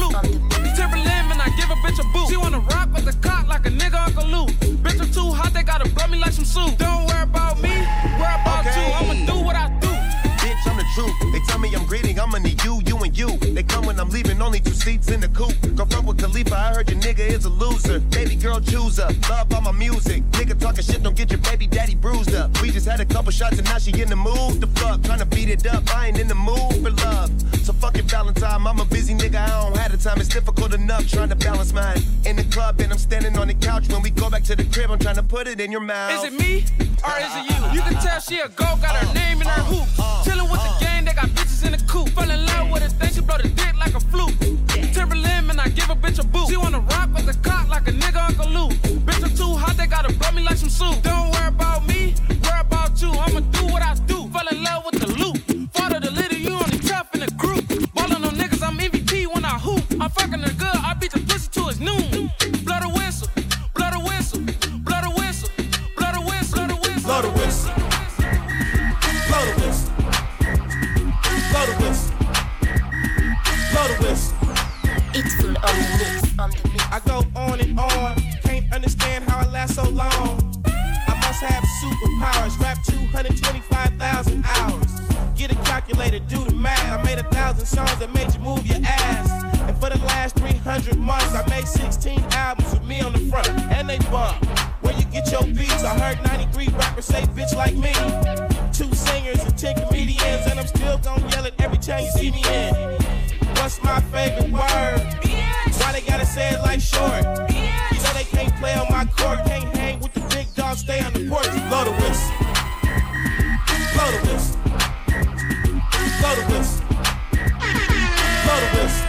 flute. Timberland, man, I give a bitch a boot. She wanna rock with the cock like a nigga Uncle Luke. Bitch, I'm too hot, they gotta blow me like some soup. Don't worry about me, worry about Okay. you. I'ma do what I do. Bitch, I'm the truth. They tell me I'm greedy, I'ma need you, you and you. They come when I'm leaving, only two seats in the coupe. Go front with Khalifa, I heard your nigga is a loser. Baby girl chooser, love all my music. Nigga talking shit, don't get your baby daddy bruised up. We just had a couple shots and now she in the mood. The fuck, tryna beat it up, I ain't in the mood for love. So fucking Valentine, I'm a busy nigga, I don't have the time. It's difficult enough trying to balance mine. In the club and I'm standing on the couch. When we go back to the crib, I'm trying to put it in your mouth. Is it me or is it you? You can tell she a go, got her name in her hoop. Chillin' with the gang, they got bitches in the coop. Fell in love with her, think she blow the dick like a flute. Timberland, man, I give a bitch a boot. She wanna rock with the cock like a nigga Uncle Luke. Bitch, I'm too hot, they gotta blow me like some soup. Don't worry about me, worry about you. I'ma do what I do. Fell in love with the loop. Father the little, you only tough in the group. Ballin' on niggas, I'm M V P when I hoop. I'm fucking her good, I beat the pussy till it's noon. Blow the whistle, blow the whistle, blow the whistle, blow the whistle, blow the whistle, blow the whistle, blow the whistle, blow the whistle, blow the whistle. It's full on the mix, on the mix. I go on and on, can't understand how I last so long. I must have superpowers, rap two hundred twenty-five thousand hours. Get a calculator, do the math. I made a thousand songs that made you move your ass. And for the last three hundred months, I made sixteen albums with me on the front, and they bump. Where you get your beats? I heard ninety-three rappers say bitch like me. Two singers and ten comedians, and I'm still gonna yell it every time you see me in. What's my favorite word? Why they gotta say it like short? You know they can't play on my court, can't hang with the big dogs, stay on the porch. Blow the whistle, blow the whistle, blow the whistle, blow the whistle.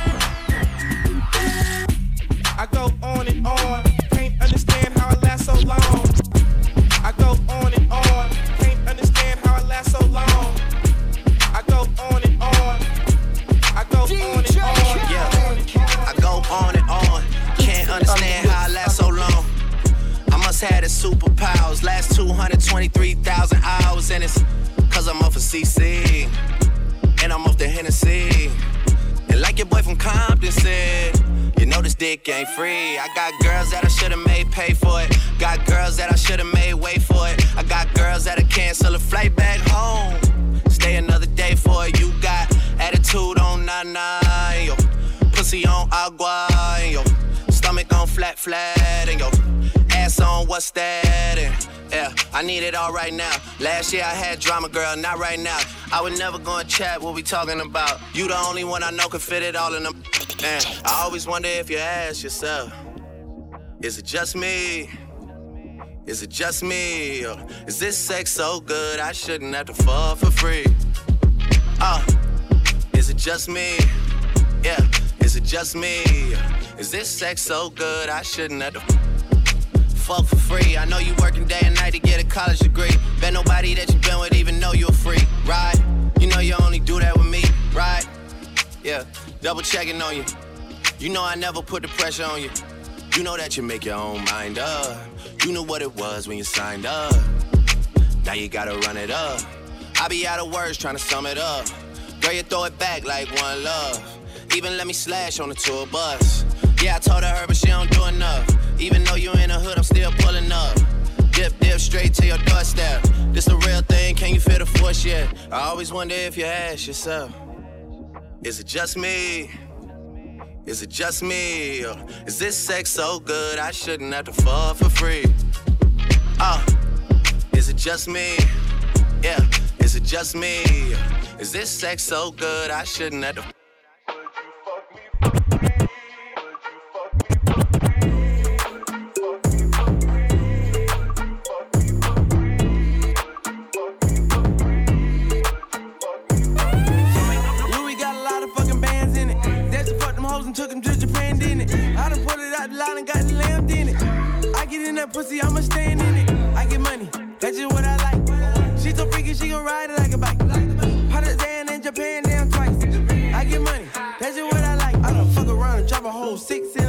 I go on and on, can't understand how I last so long. I go on and on, can't understand how I last so long. I go on and on, I go on and on. Yeah, I go on and on, can't understand how I last so long. I must have the superpowers, last two hundred twenty-three thousand hours, and it's cause I'm off of C C, and I'm off the Hennessy. And like your boy from Compton said, you know this dick ain't free. I got girls that I should've made pay for it. Got girls that I should've made wait for it. I got girls that'll cancel a flight back home. Stay another day for it. You got attitude on nine, yo. Pussy on agua, and yo. Stomach on flat, flat, and yo. Ass on what's that, and yeah, I need it all right now. Last year I had drama, girl, not right now. I would never go and chat what we talking about. You the only one I know can fit it all in them. Man, I always wonder if you ask yourself, is it just me? Is it just me? Or is this sex so good I shouldn't have to fall for free? Uh, is it just me? Yeah, is it just me? Is this sex so good I shouldn't have to fuck for free? I know you working day and night to get a college degree. Bet nobody that you been with even know you're free, right? You know you only do that with me, right? Yeah, double checking on you. You know I never put the pressure on you. You know that you make your own mind up. You knew what it was when you signed up. Now you gotta run it up. I be out of words trying to sum it up. Girl, you throw it back like one love. Even let me slash on the tour bus. Yeah, I told her, but she don't do enough. Even though you in the hood, I'm still pulling up. Dip, dip, straight to your doorstep. This a real thing, can you feel the force yet? I always wonder if you ask yourself, is it just me? Is it just me? Or is this sex so good I shouldn't have to fall for free? Uh, is it just me? Yeah, is it just me? Is this sex so good I shouldn't have to took him to Japan, didn't it? I done pulled it out the line and got the lamb, didn't it? I get in that pussy, I'ma stand in it. I get money, that's just what I like. She so freaky, she gon' ride it like a bike. Partisan in Japan, damn twice. I get money, that's just what I like. I done fuck around and drop a whole six in a phantom.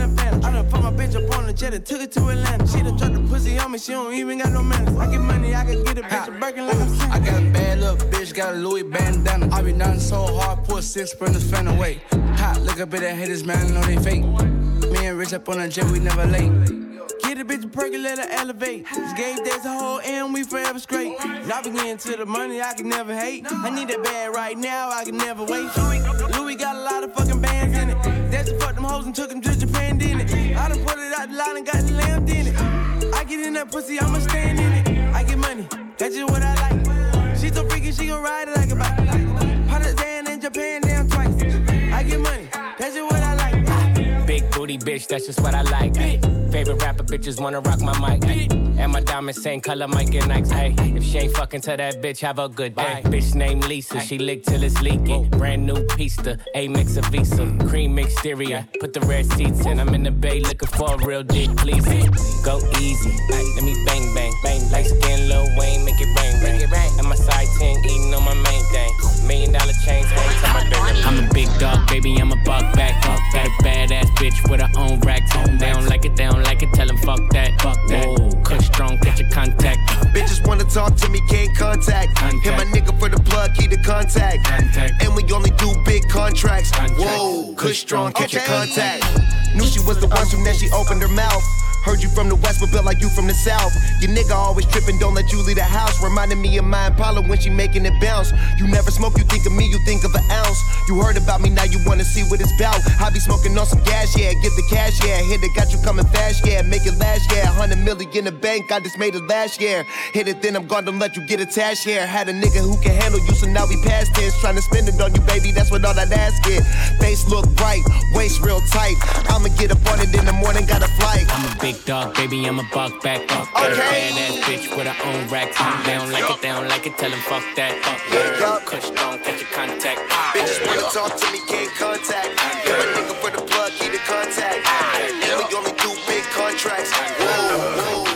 I done put my bitch up on the jet and took it to Atlanta. She done dropped the pussy on me, she don't even got no manners. I get money, I can get a bitch a Birkin like I'm saying. I got a bad little bitch, got a Louis bandana. I be nothing so hard, put six sprinters fan away. Hot, look up at the haters, man, I know they fake. Me and Rich up on the jet, we never late. Get a bitch a perky, let her elevate. This game there's a whole and we forever straight. Now we getting to the money, I can never hate. I need that bag right now, I can never wait. Louis, Louis got a lot of fucking bands in it. That's just fucked them hoes and took them to Japan, didn't it? I done put it out the line and got the lamb in it. I get in that pussy, I'ma stand in it. I get money, that's just what I like. She so freaky, she gon' ride it like a bike. Put it down in Japan, down twice. I get money, that's just what I like. Big booty bitch, that's just what I like. Ay. Favorite rapper bitches wanna rock my mic. Ay. And my diamonds same color, Mike and Nikes. Hey, if she ain't fucking to that bitch, have a good day. Ay. Bitch named Lisa, she lick till it's leaking. Brand new pista, A mix of Visa, cream exterior. Put the red seats in. I'm in the bay looking for a real dick, please. Go easy, ay. Let me bang bang bang. Light skin, Lil Wayne, make it rain, rain. It rain. And my side ten eating on my main thing. Million dollar chains hang to my dirt. I'm a big dog, baby, I'm a buck back. Got a badass bitch with her own racks. They don't like it, they don't like it, tell them fuck that. Fuck that. Whoa, Kush strong, catch your contact. Bitches wanna talk to me, can't contact. contact. Hit my nigga for the plug, key to contact. contact. And we only do big contracts. Contract. Whoa, Kush strong, catch okay. your contact. Knew she was the one, so now she opened her mouth. Heard you from the west, but built like you from the south. Your nigga always tripping, don't let you leave the house. Reminding me of my Impala when she making it bounce. You never smoke, you think of me, you think of an ounce. You heard about me, now you wanna see what it's about. I be smoking on some gas, yeah, get the cash, yeah. Hit it, got you coming fast, yeah, make it last, yeah. Hundred million in the bank, I just made it last year. Hit it, then I'm gone, don't let you get attached, yeah. Had a nigga who can handle you, so now we past tense. Trying to spend it on you, baby, that's what all that ass get. Face look bright, waist real tight. I'ma get up on it in the morning, got a flight. I'm a big dog, baby, I'm a buck back. Got okay. a badass bitch with her own racks. They don't like it, they don't like it, tell them fuck that. Fuck that. Kush strong, catch your contact. Bitches wanna talk to me, can't contact. Give a nigga for the plug, key to contact. And we only do big contracts. Whoa, whoa,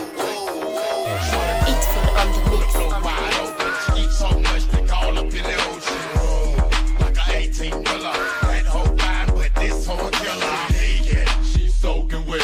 whoa. Eat food on the mix. Wide open, eat so much they call up in the ocean. Like an eighteen wheeler. That whole line, but this whole killer. Naked, she's soaking wet.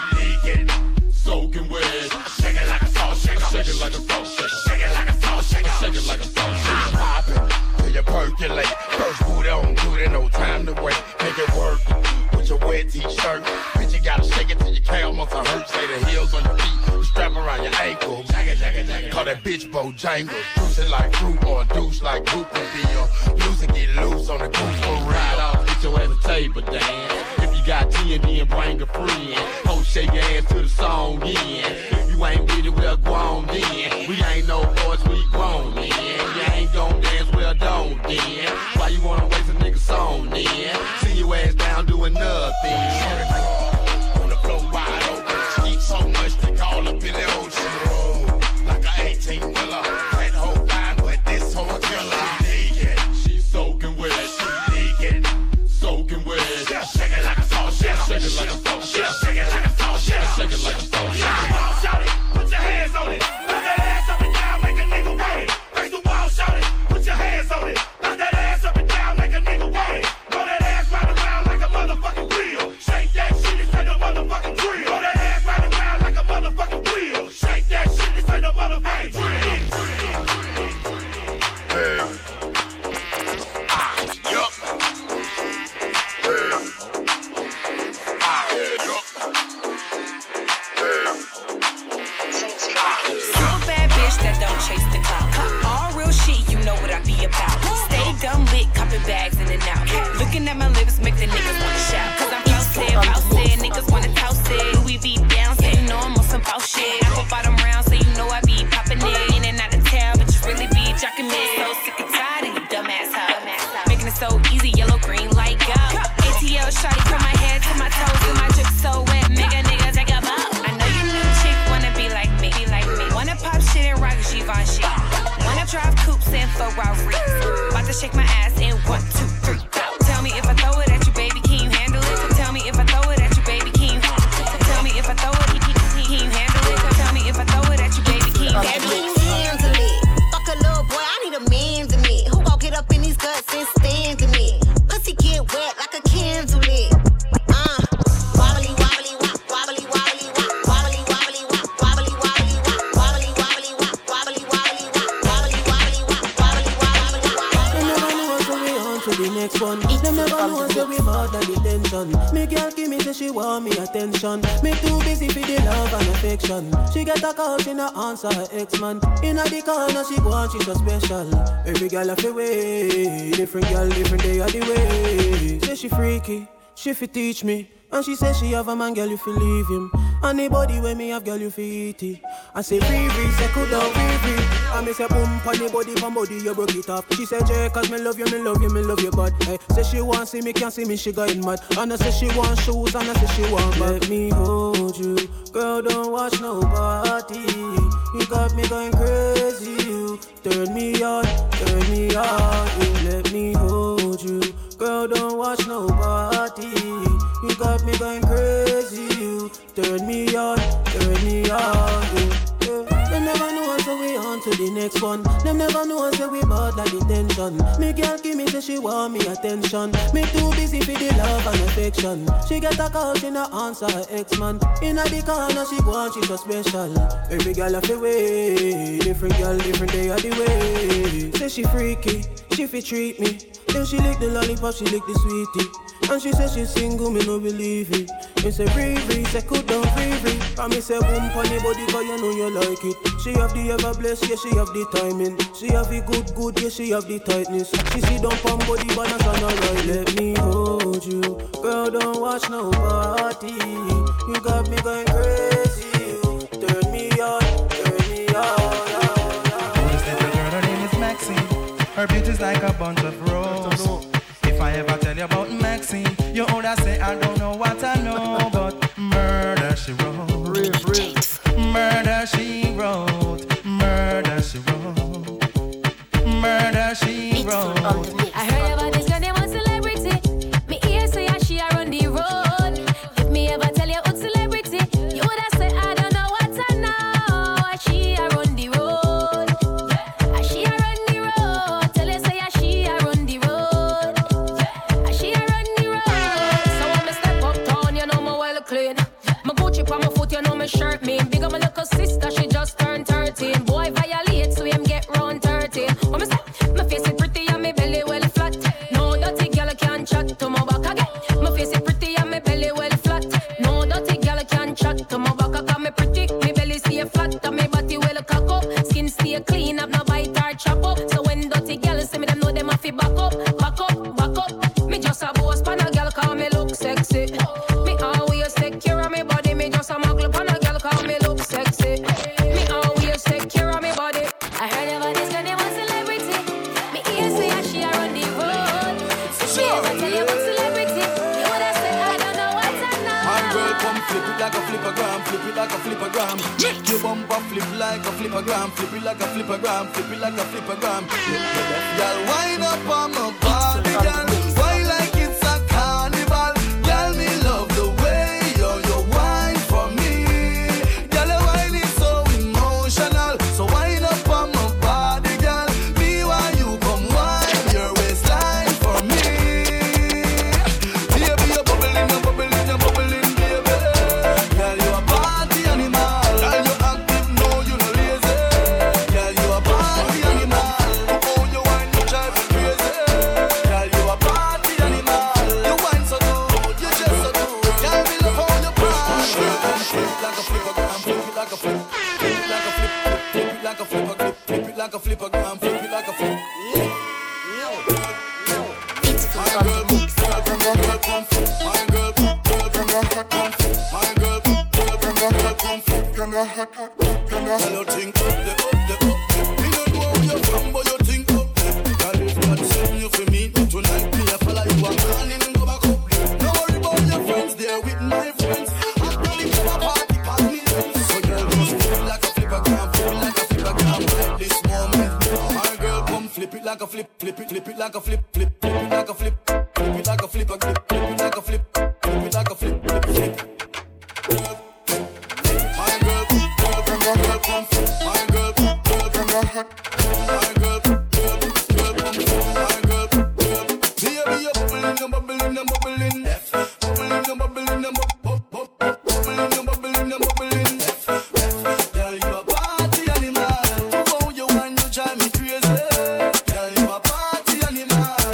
Soaking wet, shake it like a salt shaker, shake it like a salt shaker, shake it like a salt shaker, shake it like a salt shaker. Poppin' till you percolate. First boot on, do it, no time to wait. Make it work with your wet t-shirt. Bitch, you gotta shake it till your calf muscle hurt. Say the heels on your feet, strap around your ankle. Jagga, jagga, jagga. Call that bitch Bojangles. Juice it like fruit or a douche like Goop will be your loose and get loose on the goose for real. Ride off, get your ass a table dance. If you got T and D and bring a friend. Shake your ass to the song, yeah. If you ain't with it, we're grown, then. We ain't no boys, we grown, then. You ain't gon' dance, well, don't, then. Why you wanna waste a nigga song, then? See your ass down doing nothing. On the floor wide open. Eat so much they call up in the ocean. Like an eighteen wheeler. That whole line, but this whole killer. Naked, she's soaking wet. She naked, soaking wet. Shake it like a salt shaker. Shake it like a salt shaker. Shake it like a Shake it like a salt shaker. Shout it, put your hands on it. Put that ass up and down, make a nigga wait. Face the wall, shout it, put your hands on it. Put that ass up and down, make a nigga wait. Roll that ass round around like a motherfucking wheel. Shake that shit, this ain't no motherfucking drill. Roll that ass round around like a motherfucking wheel. Shake that shit, this ain't no motherfucking drill. Hey. Ah, yup. Hey. Ah, yup. That don't chase the clout. All real shit, you know what I be about. Stay dumb lit, copping bags in and out. Looking at my lips, make the niggas wanna shout. Cause I'm flousted, bousted, niggas wanna toast it. We be down, so you know I'm on some bout shit. I go bottom round, so you know I be popping it. In and out of town, but you really be jocking me. So sick and tired of you dumbass hoe. Making it so easy, yellow, green, light, go. A T L shawty from my head to my toes, and my drip so wet, make a nigga take a bow. I know you new chick wanna be like me, be like me. Wanna pop shit and rock Givenchy. Wanna drive coupes and Ferraris. About to shake my ass in one, two, three, go. Tell me if I throw it at you, baby, can you say she want me attention. Me too busy for the love and affection. She get a call, she not answer her ex-man. In a the corner, she go on, she so special. Every girl have a way, different girl, different day of the way. Say she freaky, she fi teach me. And she say she have a man, girl, you fi leave him. Anybody when me have, girl, you fi eat it. I say free, free, say cool down, free, free. And me say boom, pon the body, pon body, you broke it off. She say Jay, cause me love you, me love you, me love you, but hey, say she want see me, can't see me, she going mad. And I say she want shoes, and I say she want back. Let me hold you, girl, don't watch nobody. You got me going crazy, you turn me on, turn me on. You let me hold you, girl, don't watch nobody. You got me going crazy, you turn me on, turn me on, yeah, yeah. Them never know us, so we on to the next one. Them never know us, so we bought like detention. Me girl give me, say she want me attention. Me too busy for the love and affection. She get a call, she not answer her ex-man. In a the corner, she go on, she so special. Every girl have a way, different girl, different day of the way. Say she freaky, she fi treat me. Then she lick the lollipop, she lick the sweetie. And she say she single, me no believe it. Me say free, free, say cool down, free, free. And me say boom, pony body, cause you know you like it. She have the ever blessed, yeah, she have the timing. She have the good, good, yeah, she have the tightness. She see down pon body, balance and alright. Let me hold you, girl, don't watch nobody. You got me going crazy, you turn me on, turn me on. This little girl, her name is Maxine. Her beauty's like a bunch of roses. If I ever tell you about Maxine, you older say I don't know what I know, but murder she wrote, murder she wrote, murder she wrote, murder she wrote. I heard about this girl, they want celebrity. Me ear say how she a run the road. If me ever tell you what celebrity, you woulda say I don't know what I know. How she a run the road. How she a run the road. Tell you say how she a run the road. How she a run the road. So when me step uptown, you know me well clean. My Gucci on my foot, you know me shirt mean. Big up my little sister, she just turned thirteen. Boy violate, so him get round thirteen. When me step, my face is pretty and my belly well flat. No dirty girl can chat to my back again. My face is pretty and my belly well flat. No dirty girl can chat to my back. I got me pretty, my belly stay flat and my body well cock up. Skin stay clean, have no bite or chop up. So when dirty girls see me, them know them have to back up, back up, back up. Me just a boss pan a girl call me look sexy. Me always take care of me body. Me just a muggle pan a girl call me look sexy. Me always take care of me body. I heard about this girl, they want celebrity. Me ear say how she a run the road. If me ever tell you about celebrity, you woulda say I don't know what I know. My girl, come flip it like a flippergram, flip it like a flippergram. Make your bumper flip like a flippergram, flip it like a flippergram, flip it like a flippergram. Y'all wind up on my body, girl. Why like it's a carnival? Girl, me love the way you you wine for me. Girl, your wine is so emotional. So wind up on my body, girl. Me why you come wine your waistline for me. Baby, you're bubbling, you're bubbling, you're bubbling, baby. Girl, you a party animal. Girl, you active, no, you no lazy. Girl, you a party animal. Oh, you wine, you drive me crazy. Girl, you a party animal. You wine so good, you just so good. Girl, me love how you party. Flip it like a flippergram, flip it like a flip, flip it like a flip, flip it like a flipper, flip, flip it like a flippergram, flip it like a flip. My girl, girl, girl, girl, come flip. My girl, girl, girl, girl, come flip. My girl, girl, girl, girl, come flip. Tell you think up the, up the, up the. Me don't know where you're from, but you think up there. Girl, if God send you for me tonight, me a follow you and call in and go back up there. Don't worry about your friends, they're with my friends. I'm ready for a party, party. So girl, just flip it like a flippergram, flip it like a flippergram. At this moment, my girl, come flip it like a flip, flip it, flip it like a flip, flip, flip it like a flip, flip it like a flipper, flip, flip it like a flip, flip it like a flip, flip, flip. My girl, girl, girl, girl, come flip. My girl, girl, girl, girl, my girl, girl, girl, come flip. My girl, girl, baby, you're bubbling, you're bubbling, you're bubbling, bubbling, you're bubbling, you're bubbling, bubbling, you're bubbling, you're bubbling. Girl, you a party animal. Oh, you want you drive me crazy. Girl, you a party animal.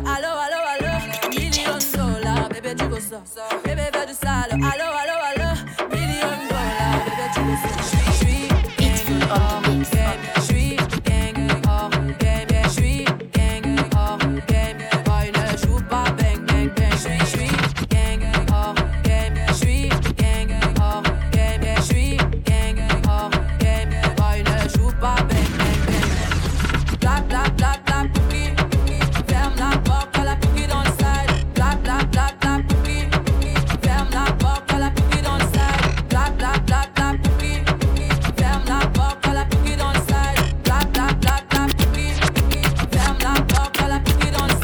allo, allo, allo. Million dollars, bébé, tu veux ça. Bébé, fais du sale, allo, allo, allo. Million dollars, bébé, tu veux ça. J'suis gang, oh, gang, j'suis gang, oh, gang, j'suis gang, oh, gang. Boy, ne joue pas bang, bang, bang. J'suis, j'suis gang, oh, gang, j'suis gang, oh, gang, j'suis gang, oh, gang. Boy, ne joue pas bang, bang, bang. Bla, bla, bla, bla, pouki. Ferme la porte, à la pouki dans le side. Bla, bla, bla, bla, pouki. Ferme la porte, à la pouki dans le side. Bla, bla, bla, bla, pouki. Ferme la porte, à la pouki dans le side. Bla, bla, bla, bla, pouki. Ferme la porte, à la pouki dans le side.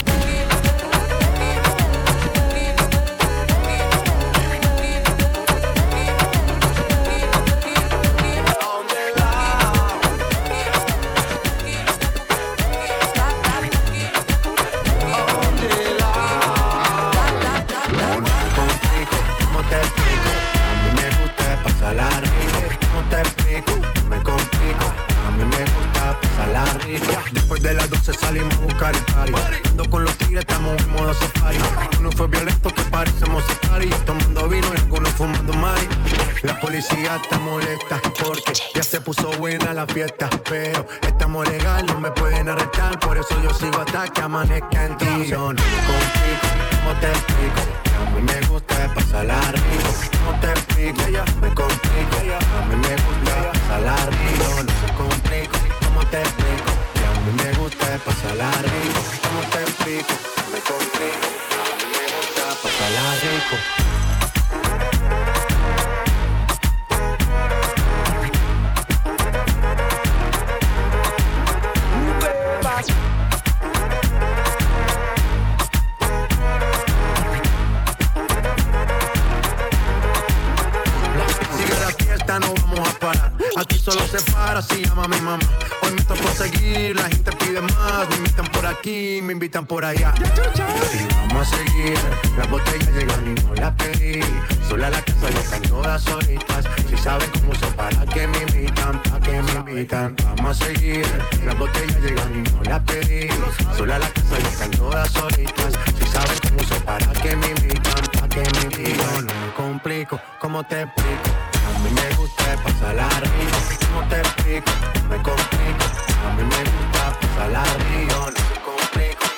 ¿Cómo te explico? A mí me gusta pasarla rico. ¿Cómo te explico? No me complico. A mí me gusta pasarla rico. Después de las doce salimos a buscar el party. Ando con los tigres, estamos en modo safari. Uno fue violento que parecemos safari. Tomando vino y algunos fumando mari. La policía está molesta porque ya se puso buena la fiesta. Pero estamos legal, no me pueden arrestar. Por eso yo sigo hasta que amanezca en ti. Yo no me complico. ¿Cómo te explico? A mí me gusta pasarla rico. ¿Cómo te explico? Me complico. A mí me gusta pasarla rico. No me complico. ¿Cómo te explico? A mí me gusta pasarla rico. ¿Cómo te explico? Me complico. A mí me gusta pasarla rico. No vamos a parar, aquí solo se para si llama mi mamá. Hoy me tocó seguir, la gente pide más. Me invitan por aquí, me invitan por allá. Y vamos a seguir, las botellas llegan y no las pedí. Sola la casa ya están todas solitas. Si saben cómo uso para que me invitan, para que me invitan. Vamos a seguir, las botellas llegan y no las pedí. Sola la casa ya están todas solitas. Si saben cómo uso para que me invitan, para que me invitan. No me complico, ¿cómo te explico? A mí me gusta pasarla rico. ¿Cómo te explico? Me complico. A mí me gusta pasarla rico. No me complico.